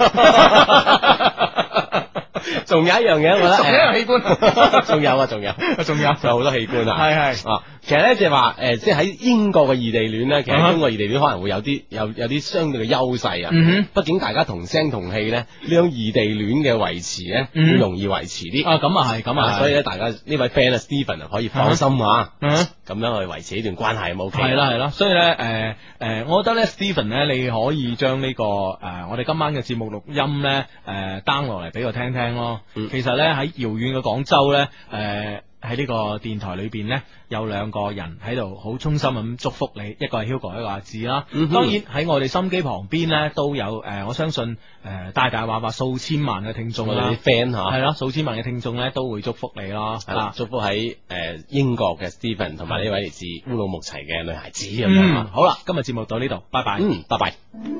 仲有一樣嘢，我覺得仲有一樣器官， 仲有好多器官啊！ 係其實咧，即係話即係喺英國嘅異地戀咧，其實英國異地戀可能會有啲相對嘅優勢啊。畢竟大家同聲同氣咧，呢種異地戀嘅維持咧，會容易維持啲。 咁啊， 所以咧，大家呢位 friend Stephen 可以放心啊，咁樣去維持呢段關係冇錯。 係啦，所以咧我覺得咧 Stephen 咧，你可以將呢個我哋今晚嘅節目錄音咧down 落嚟俾我聽聽咯。其實咧喺遙遠嘅廣州咧喺呢個電台裏邊呢，有兩個人喺度好衷心咁祝福你，一個係 Hugo， 一個阿志啦。當然喺我哋心機旁邊呢，都有我相信大話數千萬嘅聽眾啦， 啲 friend 係啦，數千萬嘅聽眾呢都會祝福你咯。 係啦，祝福喺英國嘅 Stephen 同埋呢位嚟自烏魯木齊嘅女孩子咁樣。 好啦，今日節目到呢度，拜拜。 拜拜。